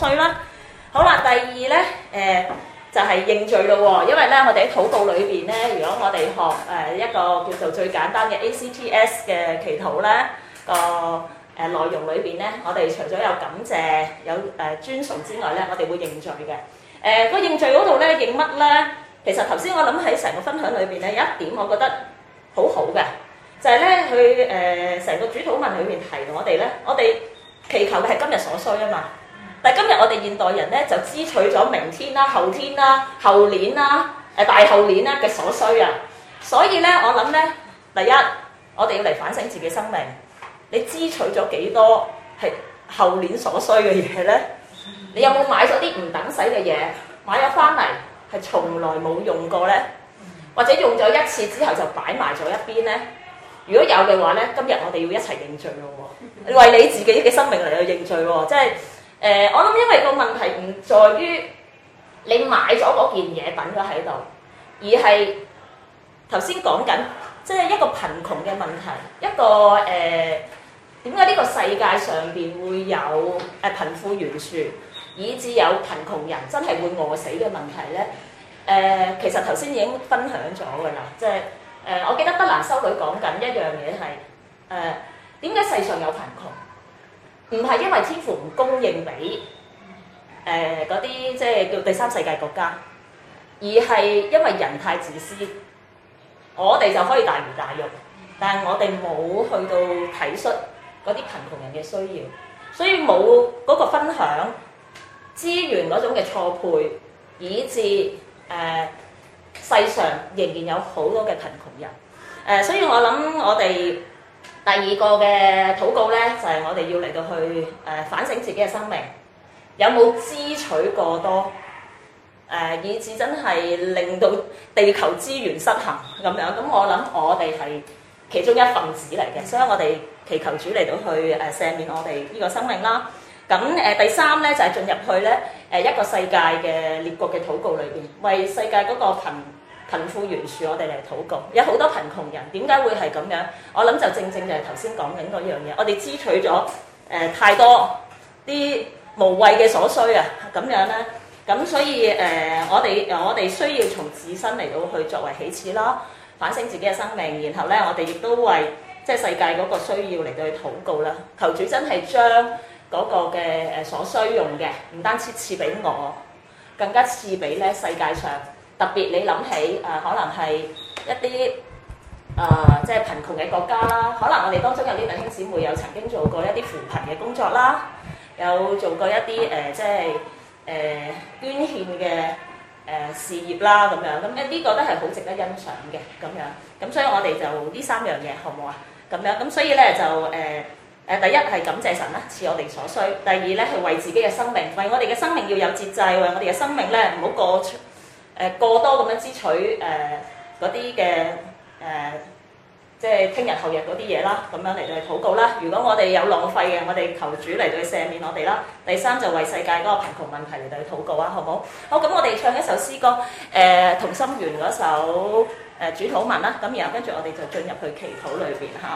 需啦。好啦，第二咧就係認罪咯喎，因為咧我哋喺禱告裏邊咧，如果我哋學一個叫做最簡單嘅 ACTS 嘅祈禱咧，個內容裏邊咧，我哋除咗有感謝、有尊崇之外咧，我哋會認罪嘅。個認罪嗰度咧認乜咧？其實頭先我諗喺成個分享裏邊咧，有一點我覺得好好嘅，就係咧佢成個主禱文裏邊提我哋咧，我哋祈求嘅係今日所需啊嘛。但係今日我哋現代人咧就支取咗明天啦、後天啦、後年啦、大後年啦嘅所需啊，所以咧我諗咧，第一我哋要嚟反省自己生命，你支取咗幾多係後年所需嘅嘢咧？你有冇買咗啲唔等使嘅嘢，買咗翻嚟係從來冇用過咧？或者用咗一次之後就擺埋咗一邊咧？如果有嘅話咧，今日我哋要一齊認罪咯喎，為你自己嘅生命嚟去認罪喎，即係。我諗因為個問題唔在於你買咗嗰件嘢等咗喺度，而係頭先講緊，即係一個貧窮嘅問題，一個點解呢個世界上邊會有貧富懸殊，以至有貧窮人真係會餓死嘅問題咧？其實頭先已經分享咗㗎啦，即係我記得德蘭修女講緊一樣嘢係點解世上有貧窮？唔係因為天父唔供應俾嗰啲即係叫第三世界國家，而係因為人太自私，我哋就可以大魚大肉，但係我哋冇去到體恤嗰啲貧窮人嘅需要，所以冇嗰個分享資源嗰種嘅錯配，以致世上仍然有好多嘅貧窮人。所以我諗我哋第二個嘅禱告咧，就係我哋要嚟到去反省自己嘅生命，有冇支取過多，以致真係令到地球資源失衡咁樣。咁我諗我哋係其中一份子嚟嘅，所以我哋祈求主嚟到去赦免我哋呢個生命啦。咁第三咧就係進入去咧一個世界嘅列國嘅禱告裏邊，為世界嗰個貧富懸殊，我哋嚟禱告。有好多貧窮人，點解會係咁樣？我諗就正正就係頭先講緊嗰樣嘢，我哋支取咗太多啲無謂嘅所需啊，咁樣咧，咁所以我哋需要從自身嚟到去作為起始啦，反省自己嘅生命，然後咧我哋亦都為即係世界嗰個需要嚟到去禱告啦。求主真係將嗰個嘅所需用嘅，唔單止賜俾我，更加賜俾咧世界上。特別你諗起可能係一啲即係貧窮嘅國家啦，可能我哋當中有啲弟兄姊妹有曾經做過一啲扶貧嘅工作啦，有做過一啲即係捐獻嘅事業啦咁樣，咁呢個都係好值得欣賞嘅咁樣。咁所以我哋就呢三樣嘢好唔好啊？咁樣咁所以咧就第一係感謝神啦，賜我哋所需；第二咧係為自己嘅生命，為我哋嘅生命要有節制，為我哋嘅生命咧唔好過多咁樣支取嗰啲嘅即係聽日後日嗰啲嘢啦，咁樣嚟到去禱告啦。如果我哋有浪費嘅，我哋求主嚟到去赦免我哋啦。第三就為世界嗰個貧窮問題嚟到去禱告啊，好唔好？好，咁我哋唱一首詩歌，同心圓嗰首主禱文啦。咁然後跟住我哋就進入去祈禱裏邊嚇。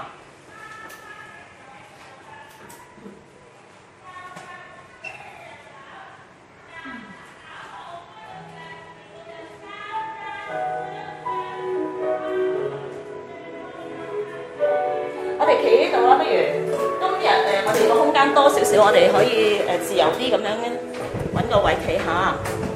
我哋企呢度啦，不如今日我哋個空間多少少，我哋可以自由啲咁樣揾個位企下。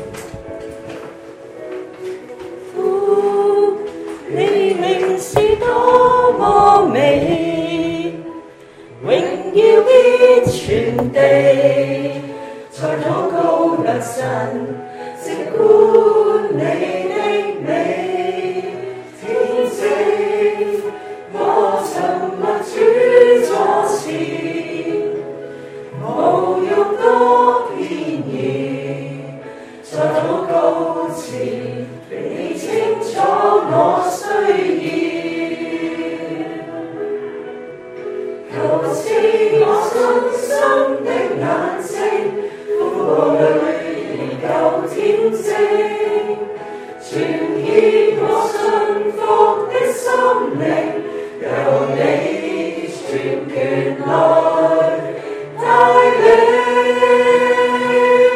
父，你名是多麼美，榮耀遍全地，在禱告良辰，靜觀你的美，天職。我沉默主座前，無欲多偏言，在禱告前，你清楚我需要，求賜我信心的眼睛，風暴裡研究天職，傳獻我信服的心靈。由你全權來帶領。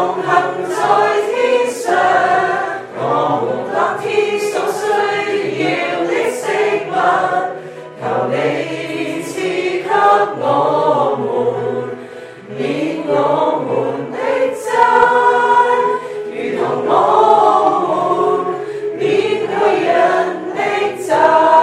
同行在天上，我們當天所需要的食物，求你賜給我們，免我們的債，如同我們免去人的債。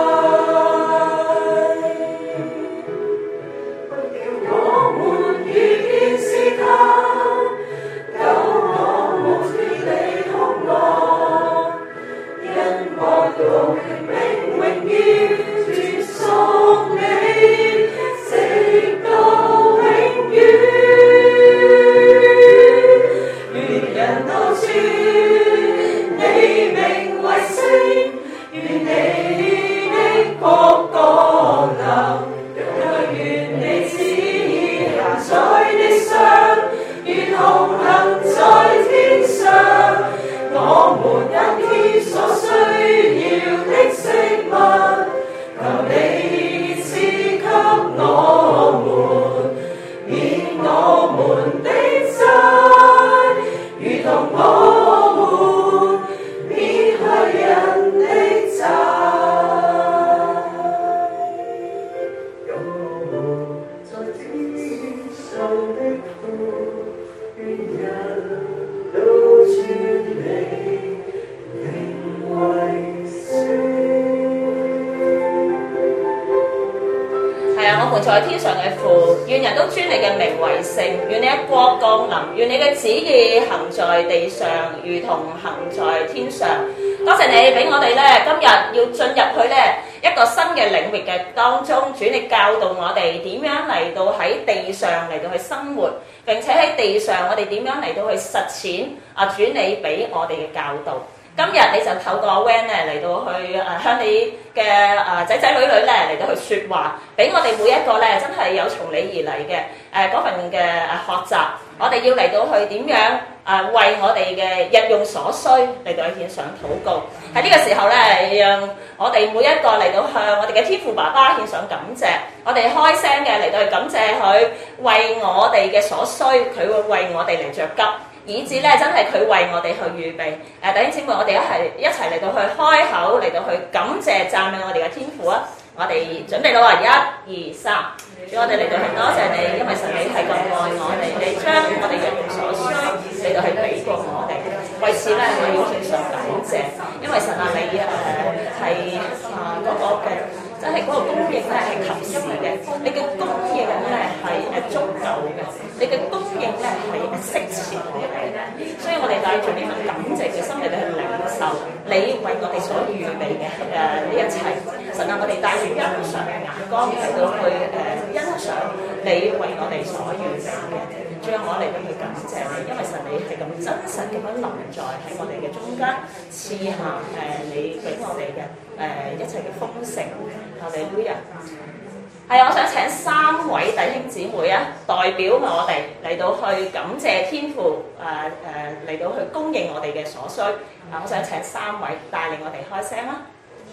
在天上嘅父，願人都尊你嘅名為聖，願你嘅國降臨，願你嘅旨意行在地上，如同行在天上。多謝你俾我哋咧，今日要進入去咧一個新嘅領域嘅當中，主你教導我哋點樣嚟到喺地上嚟到去生活，並且喺地上我哋點樣嚟到去實踐主你俾我哋嘅教導。今日你就透過 Van 咧嚟到去向你嘅仔仔女女咧嚟到去説話，俾我哋每一個咧真係有從你而嚟嘅嗰份嘅學習，我哋要嚟到去點樣為我哋嘅日用所需嚟到去獻上禱告。喺呢個時候咧，讓我哋每一個嚟到向我哋嘅天父爸爸獻上感謝，我哋開聲嘅嚟到去感謝佢為我哋嘅所需，佢會為我哋嚟着急。以至咧，真係佢為我哋去預備。弟兄姊妹，我哋一齊嚟到去開口，嚟到去感謝讚美我哋嘅天父啊！我哋準備啦喎，1、2、3，主我哋嚟到去多謝你，因為神你係咁愛我哋，你將我哋日用所需嚟到去俾過我哋。為此咧，我要獻上感謝，因為神啊，你係嗰個嘅。真係嗰個供應咧係及時嘅，你嘅供應咧係足夠嘅，你嘅供應咧係適切嘅。所以我哋帶住呢份感謝嘅心嚟到去領受你為我哋所預備嘅呢一切。神啊，我哋帶住欣賞嘅眼光嚟到去欣賞你為我哋所預備嘅。最後我嚟到去感謝你，因為神你係咁真實咁樣臨在喺我哋嘅中間，賜下你俾我哋嘅一切嘅豐盛。哈利路亞！係啊，我想請3位弟兄姊妹啊，代表我哋嚟到去感謝天父嚟到去供應我哋嘅所需。我想請3位帶領我哋開聲啦。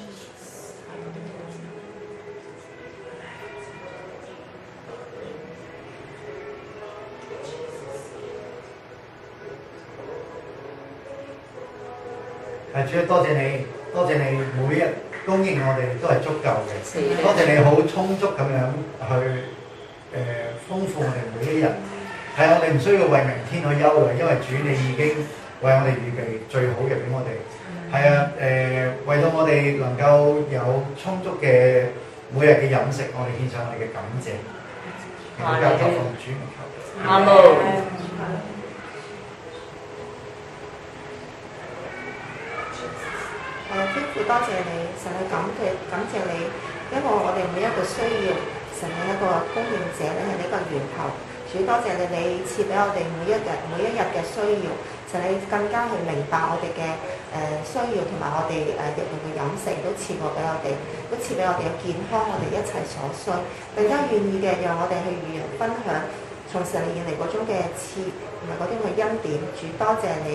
主，多謝你，多謝你每日供應我哋都係足夠嘅。多謝你好充足咁樣去豐富我哋每一日。係我哋唔需要為明天去憂慮，因為主你已經為我哋預備最好嘅俾我哋。係啊，為到我哋能夠有充足嘅每日嘅飲食，我哋獻上我哋嘅感謝。我交託奉主名求。
阿門。
天父多謝你，神去感謝你，因為我哋每一個需要，神係一個供應者，你係呢個源頭。主多謝你，你賜俾我哋每一日嘅需要，神你更加去明白我哋嘅需要，同埋我哋日用嘅飲食都賜過俾我哋，都賜俾我哋嘅健康，我哋一切所需，更加願意嘅讓我哋去與人分享從神而嚟嗰種嘅賜同埋嗰種嘅恩典。主多謝你。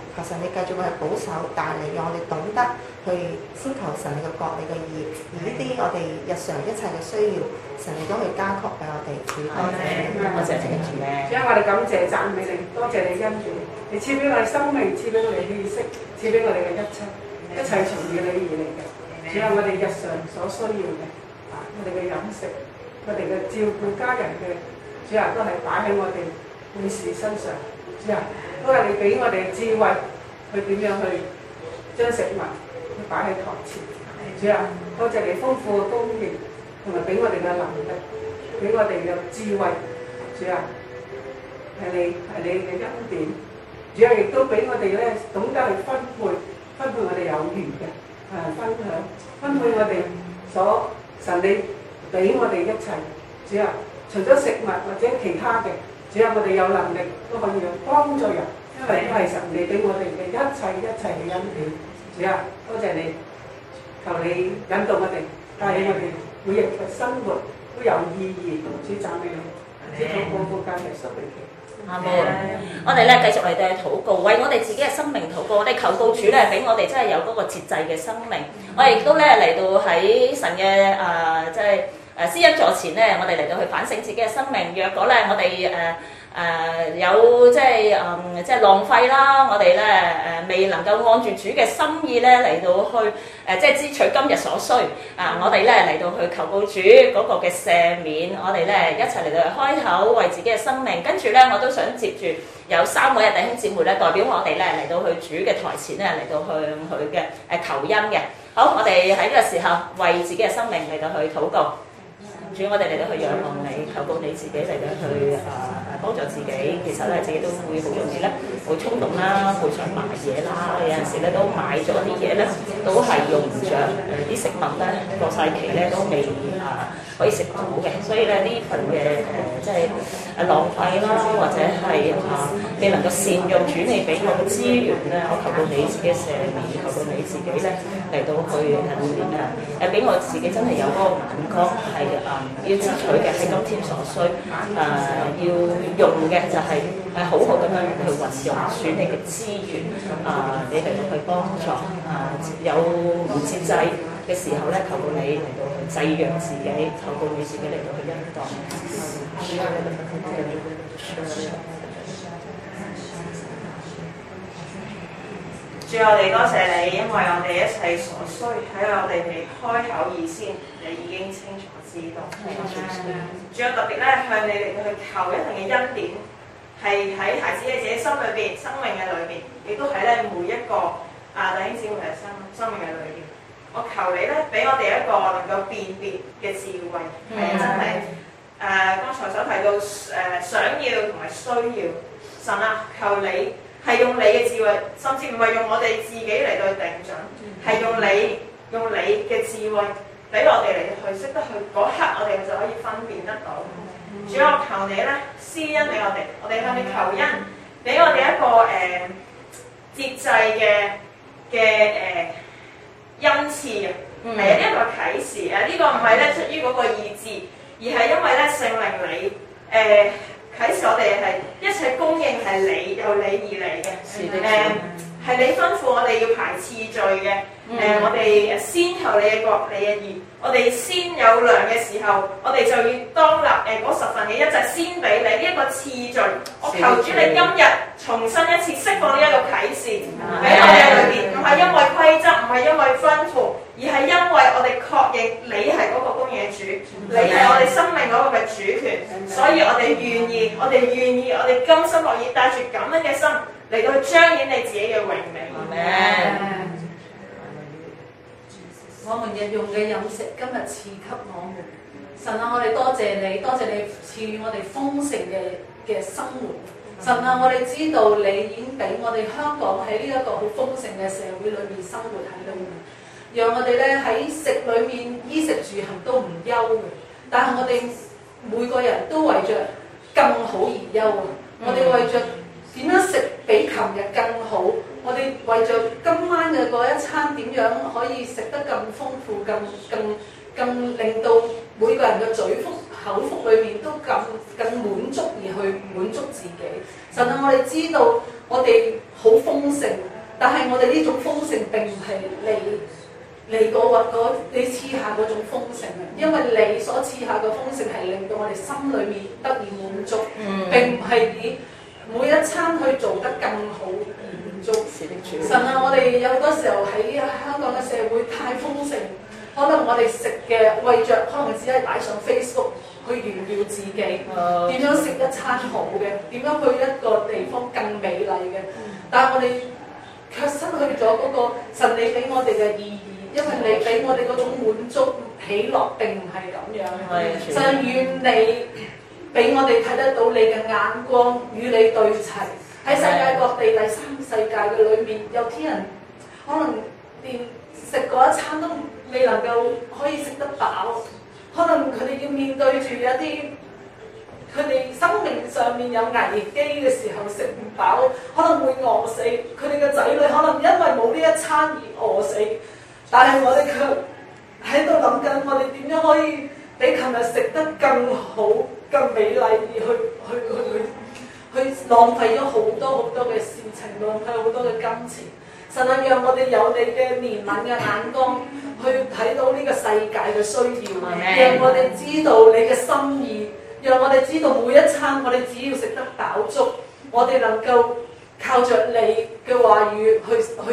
求神你繼續去保守帶領，讓我哋懂得去先求神你嘅國你嘅義，而呢啲我哋日常一切嘅需要，神你都去加給俾我哋。
多謝你主咧。
主啊，我哋感謝讚美你，多謝你恩典，你賜俾我哋生命，賜俾我哋氣息，賜俾我哋嘅一切，一切從你而嚟嘅。主啊，我哋日常所需要嘅，我哋嘅飲食，我哋嘅照顧家人嘅，主啊，都係擺喺我哋每事身上。主啊，都係你俾我哋嘅智慧，去點樣去將食物去擺喺台前。主啊，多謝你豐富嘅供應，同埋俾我哋嘅能力，俾我哋嘅智慧。主啊，係你嘅恩典。主啊，亦都俾我哋咧懂得去分配我哋有餘嘅分配我哋所神你俾我哋一切。主啊，除咗食物或者其他嘅，主啊，我哋有能力都可以去幫助人，因為都係神你俾我哋嘅一切嘅恩典。主啊，多謝你，求你引導我哋，帶領我哋每日嘅生活都有意義。主讚美你，主禱告奉教耶穌名祈。
阿門。我哋咧繼續嚟到禱告，為我哋自己嘅生命禱告。我哋求告主咧，俾我哋真係有嗰個節制嘅生命。我哋亦都咧嚟到喺神嘅即係施恩座前咧，我哋嚟到去反省自己嘅生命。若果咧我哋有即係浪費啦，我哋咧未能夠按住主嘅心意咧嚟到去即係支取今日所需我哋咧嚟到去求告主嗰個嘅赦免，我哋咧一齊嚟到去開口為自己嘅生命。跟住咧我都想接住有3位弟兄姊妹咧代表我哋咧嚟到去主嘅台前咧嚟到去向佢嘅求恩嘅。好，我哋喺呢個時候為自己嘅生命嚟到去禱告。主，我哋嚟到去仰望你，求告你自己嚟到去幫助自己。其實咧，自己都會好容易咧，會衝動啦，會想買嘢啦。有陣時咧都買咗啲嘢咧，都係用唔着。啲食物咧過晒期咧都未可以食到嘅。所以咧呢份嘅即係浪費啦，或者係未能夠善用主你俾我嘅資源咧，我求到你自己赦免，求到你自己咧嚟到去俾我自己真係有嗰個眼光係要支取嘅係今天所需，要用嘅就係好好咁樣去運用主你嘅資源，你嚟到去幫助有唔節制嘅時候咧，求到你嚟到去制約自己，求到你自己嚟到去恩待。
主，我哋多謝你，因為我哋一切所需喺我哋未開口以先，你已經清楚知道。主，我特別咧向你嚟到去求一定嘅恩典，係喺孩子嘅自己心裏邊、生命嘅裏邊，亦都喺咧每一個弟兄姊妹嘅生命嘅裏邊。我求你咧俾我哋一個能夠辨別嘅智慧，係真係剛才所提到想要同埋需要。神啊，求你。係用你嘅智慧，甚至唔係用我哋自己嚟到定準，係用你嘅智慧俾我哋嚟去識得去嗰刻，我哋就可以分辨得到。主，我求你咧施恩俾我哋向你求恩，俾我哋一個節制嘅恩賜啊，係啊，一個啟示呢個唔係咧出於嗰個意志，而係因為咧聖靈你啟示我哋係一切供應係你由你而嚟嘅，係你吩咐我哋要排次序嘅，我哋先求你嘅國，你嘅義，我哋先有糧嘅時候，我哋就要當立嗰10份嘅一隻先俾你呢一個次序。我求主你今日重新一次釋放呢一個啟示俾我哋裏邊，唔係因為規則，唔係因為吩咐，而係因為我哋確認你係嗰個供應主，你係我哋生命嗰個嘅主權，所以我哋願意，我哋甘心樂意帶住咁樣嘅心嚟到去彰顯你自己嘅榮美。
我們日用嘅飲食今日賜給我們，神啊，我哋多謝你，多謝你賜予我哋豐盛嘅生活。神啊，我哋知道你已經俾我哋香港喺呢一個好豐盛嘅社會裏面生活喺裏面，讓我哋咧喺食裏面衣食住行都唔憂嘅。但係我哋每個人都為着更好而憂啊！我哋為着點樣食比琴日更好，我哋為着今晚嘅嗰一餐點樣可以食得更豐富、更令到每個人嘅嘴腹口腹裏面都更滿足而去滿足自己。神啊，我哋知道
我哋好豐盛，但係我哋呢種豐盛並唔係你賜下嗰種豐盛啊，因為你所賜下嘅豐盛係令到我哋心裏面得以滿足，並唔係以每一餐去做得更好而滿足。神啊，我哋有好多時候喺香港嘅社會太豐盛，可能我哋食嘅為着可能只係擺上 Facebook 去炫耀自己，點樣食一餐好嘅，點樣去一個地方更美麗嘅，但係我哋卻失去咗嗰個神你俾我哋嘅意義。因為你俾我哋嗰種滿足喜樂並唔係咁樣，神願你俾我哋睇得到你嘅眼光與你對齊。喺世界各地第三世界嘅裏面，有啲人可能連食嗰一餐都未能夠可以食得飽，可能佢哋要面對住一啲佢哋生命上面有危機嘅時候食唔飽，可能會餓死。佢哋嘅仔女可能因為冇呢一餐而餓死。但係我哋卻喺度諗緊，我哋點樣可以比琴日食得更好、更美麗，而去浪費咗好多嘅事情，浪費好多嘅金錢。神啊，讓我哋有你嘅憐憫嘅眼光，去睇到呢個世界嘅需要，讓我哋知道你嘅心意，讓我哋知道每一餐我哋只要食得飽足，我哋能夠靠着你嘅話語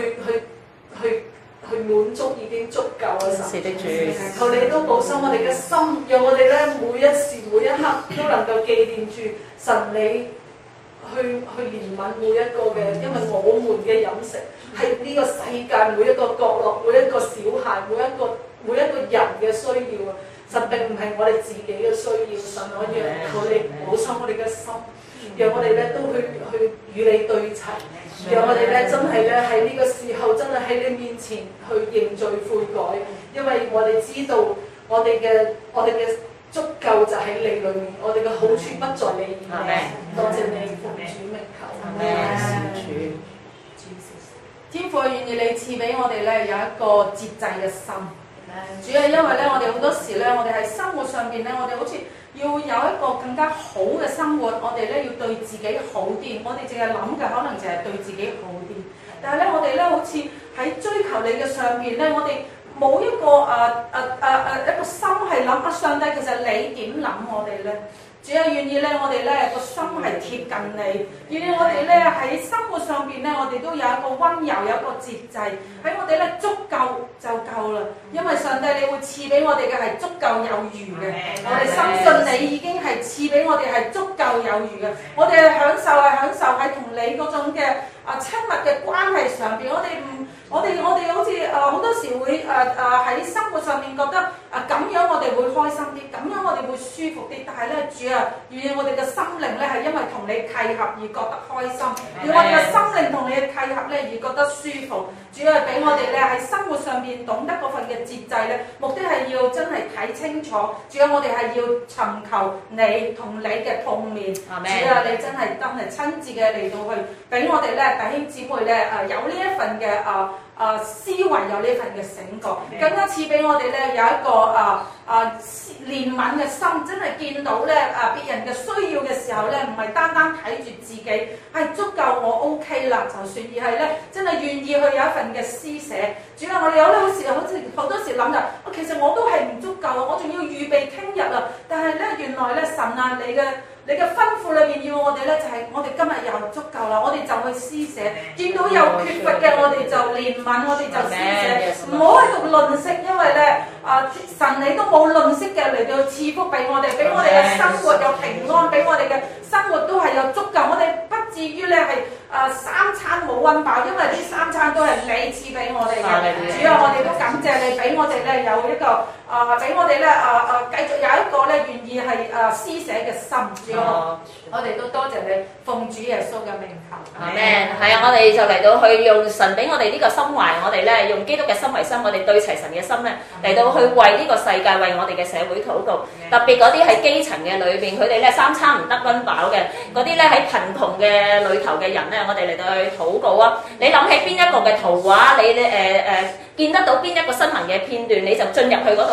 去滿足已經足夠啦，神。求你都保守我哋嘅心，讓我哋咧每一時每一刻都能夠記念住神你去憐憫每一個嘅，因為我們嘅飲食係呢個世界每一個角落、每一個小孩、每一個人嘅需要啊！神並唔係我哋自己嘅需要，神我讓求你保守我哋嘅心，讓我哋咧都去與你對齊。讓我哋咧真係咧喺呢個時候真係喺你面前去認罪悔改，因為我哋知道我哋嘅足夠就喺你裏面，我哋嘅好處不在你以外。多謝你奉主名求。天父願意你賜俾我哋咧有一個節制嘅心。主要因為咧我哋好多時咧我哋喺生活上邊咧我哋好似要有一個更加好嘅生活，我哋咧要對自己好啲，我哋淨係諗嘅可能就係對自己好啲，但係咧我哋咧好似喺追求你嘅上邊咧，我哋冇一個一個心係諗啊上帝其實你點諗我哋咧？主要願意咧，我哋咧個心係貼近你，願意我哋咧喺生活上邊咧，我哋都有一個溫柔，有一個節制，喺我哋咧足夠就夠啦。因為上帝你會賜俾我哋嘅係足夠有餘嘅，我哋深信你已經係賜俾我哋係足夠有餘嘅。我哋享受喺同你嗰種嘅親密嘅關係上邊，我哋好似好多時會喺生活上面覺得咁樣我哋會開心啲，咁樣我哋會舒服啲。但係咧，主啊，願意我哋嘅心靈咧係因為同你契合而覺得開心，願我哋嘅心靈同你嘅契合咧而覺得舒服。主啊，俾我哋咧喺生活上面懂得嗰份嘅節制咧，目的係要真係睇清楚。主啊，我哋係要尋求你同你嘅碰面。主啊，你真係親自嘅嚟到去俾我哋咧弟兄姊妹咧有呢一份嘅思維，有呢份嘅醒覺，更加賜俾我哋咧有一個憐憫嘅心，真係見到咧別人嘅需要嘅時候咧，唔係單單睇住自己係足夠我 OK 啦就算，而係咧真係願意去有一份嘅施捨。主啊，我哋有咧好多時諗就，其實我都係唔足夠，我仲要預備聽日啊！但係咧原來咧神啊，你嘅吩咐裏邊要我哋咧，就係我哋今日又足夠啦，我哋就去施捨。見到有缺乏嘅，我哋就憐憫，我哋就施捨。唔好喺度吝嗇，因為咧神你都冇吝嗇嘅嚟到賜福俾我哋，俾我哋嘅生活有平安，俾我哋嘅生活都係有足夠。我哋不至於咧係三餐冇溫飽，因為呢三餐都係你賜俾我哋嘅。主啊，我哋都感謝你俾我哋咧有一個俾我哋咧繼續有一個咧願意係施捨嘅心。我哋都多謝你，奉主耶穌嘅名求。
阿們。係啊，我哋就嚟到去用神俾我哋呢個心懷，我哋咧用基督嘅心為心，我哋對齊神嘅心咧嚟到去為呢個世界、為我哋嘅社會禱告。特別嗰啲喺基層嘅裏邊，佢哋咧三餐唔得溫飽嘅，嗰啲咧喺貧窮嘅裏頭嘅人咧，我哋嚟到去禱告啊！你諗起邊一個嘅圖畫，你見得到邊一個新聞嘅片段，你就進入去嗰度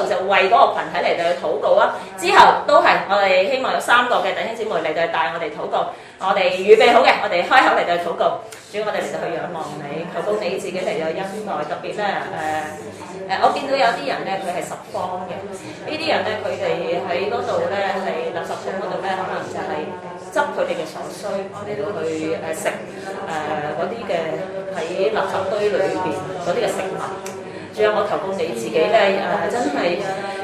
度就為嗰個羣體嚟到去禱告啊。之後都係我哋希望有3個嘅弟兄姊妹嚟到去帶我哋禱告。我哋預備好嘅，我哋開口嚟到去禱告。主，我哋嚟到去仰望你，求到你自己嚟到恩待。特別咧我見到有啲人咧，佢係十方嘅。呢啲人咧，佢哋喺嗰度咧，喺垃圾桶嗰度咧，可能就係執佢哋嘅所需嚟到去食嗰啲嘅喺垃圾堆裏邊嗰啲嘅食物。仲有我求告你自己咧真係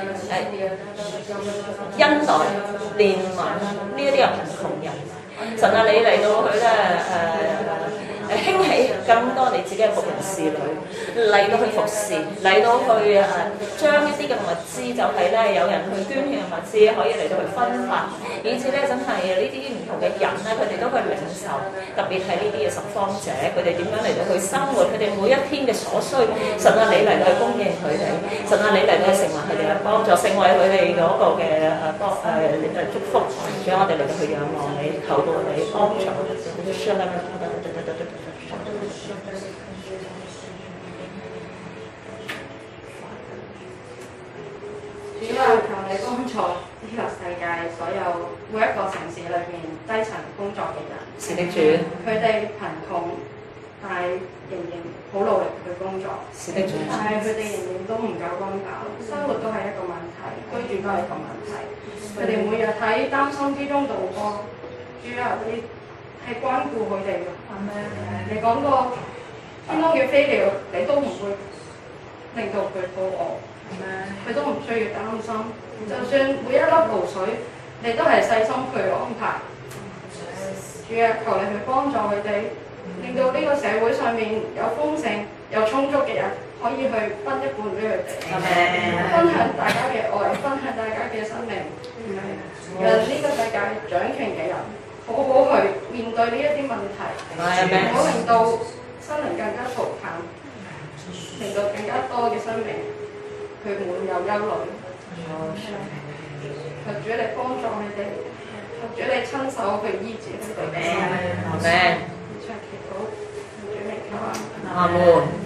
恩待憐憫呢一啲嘅貧窮人。神啊，你嚟到去咧興起更多你自己嘅僕人侍女嚟到去服侍，嚟到去將一啲嘅物資就係咧有人去捐獻嘅物資可以嚟到去分發，以至咧真係呢啲唔同嘅人咧佢哋都去領受，特別係呢啲嘅拾荒者，佢哋點樣嚟到去生活，佢哋每一天嘅所需，神啊你嚟到去供應佢哋，神啊你嚟到去成為佢哋嘅幫助，成為佢哋嗰個嘅祝福，仲有我哋嚟到去仰望你，求到你幫助。
主啊，求你幫助呢個世界所有每一個城市裏邊低層工作嘅人。
是的，主。
佢哋貧窮，但係仍然好努力去工作。
是的，主。
但係佢哋仍然都唔夠溫飽，生活都係一個問題，居住都係一個問題。佢哋每日喺擔心之中度過。主啊，你係關顧佢哋嘅。你講過天空嘅飛鳥，你都唔會令到佢肚餓。佢都唔需要擔心，就算每一粒露水，你都係細心去安排。主啊，求你去幫助佢哋，令到呢個社會上面有豐盛、有充足嘅人，可以去分一半俾佢哋，分享大家嘅愛，分享大家嘅生命，讓呢個世界掌權嘅人好好去面對呢一啲問題，唔好令到生靈更加嘈淡，令到更加多嘅生命。佢唔會有憂慮，求主你幫助佢哋，求主你親手去醫治佢哋嘅心。阿們。以上祈禱，求主名求啊！
阿門。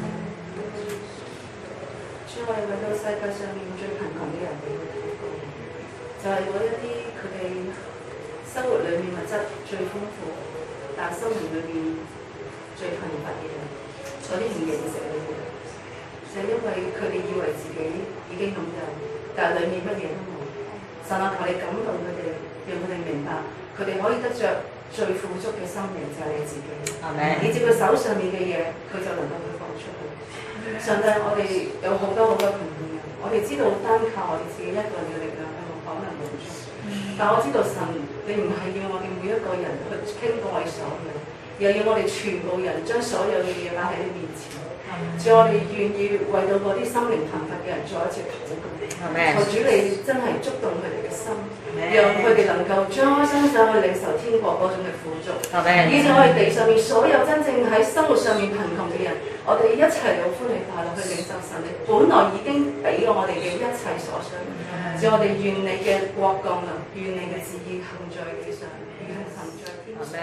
主，我哋為到世界上面最貧窮嘅人嚟去禱告，就係嗰一啲佢哋生活裏面物質最豐富，但生活裏面最貧乏嘅人，嗰啲唔認識你嘅。就因為佢哋以為自己已經擁有，但係裡面乜嘢都冇。神啊，求你感動佢哋，讓佢哋明白，佢哋可以得着最富足嘅生命就係你自己。以至佢手上面嘅嘢，佢就能夠去放出去。上帝，我哋有好多好多貧窮人，我哋知道單靠我哋自己一個人嘅力量係冇可能滿足。但我知道神，你唔係要我哋每一個人去傾到我哋所有，又要我哋全部人將所有嘅嘢擺喺你面前。主，我哋願意為到嗰啲心靈貧乏嘅人再一次禱告。求主你真係觸動佢哋嘅心，讓佢哋能夠將開心手去領受天國嗰種嘅富足。以至我哋地上面所有真正喺生活上面貧窮嘅人，我哋一齊有歡喜快樂去領受神你本來已經俾我哋嘅一切所需。主，我哋願你嘅國降臨，願你嘅旨意行在地上，如同行在天上。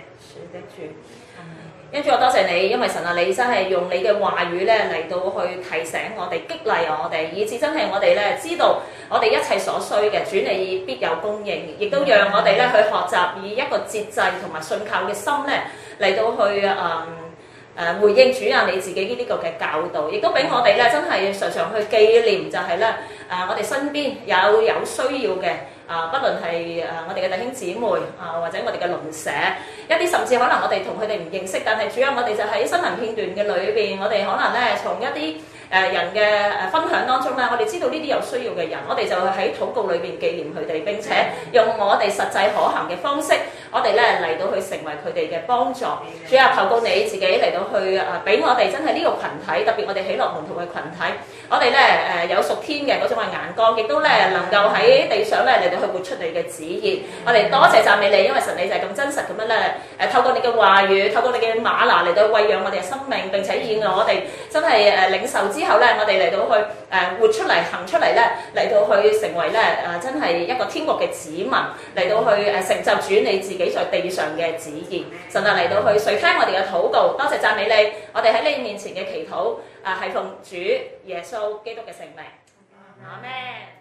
跟住我多謝你，因為神啊，你真係用你嘅話語咧嚟到去提醒我哋、激勵我哋，以至真係我哋咧知道我哋一切所需嘅主你必有供應，亦都讓我哋咧去學習以一個節制同埋信靠嘅心咧嚟到去回應主啊你自己呢個嘅教導，亦都俾我哋咧真係常常去紀念就係咧我哋身邊有需要嘅。不論係我哋嘅弟兄姊妹或者我哋嘅鄰舍，一啲甚至可能我哋同佢哋唔認識，但係主要我哋就喺新聞片段嘅裏邊，我哋可能咧從一啲人嘅分享當中咧，我哋知道呢啲有需要嘅人，我哋就喺禱告裏邊紀念佢哋，並且用我哋實際可行嘅方式，我哋咧嚟到去成為佢哋嘅幫助。主啊，求告你自己嚟到去俾我哋真係呢個群體，特別我哋喜樂門徒嘅群體，我哋咧有屬天嘅嗰種嘅眼光，亦都咧能夠喺地上咧嚟到去活出你嘅旨意。我哋多謝讚美你，因為神你就係咁真實咁樣咧透過你嘅話語，透過你嘅嗎哪嚟到餵養我哋嘅生命，並且以我哋真係領受之後咧，我哋嚟到去活出嚟、行出嚟咧，嚟到去成為咧真係一個天國嘅子民，嚟到去成就主你自己在地上嘅旨意。神啊，嚟到去垂聽我哋嘅禱告，多謝讚美你。我哋喺你面前嘅祈禱係奉主耶穌基督嘅聖名。 阿們。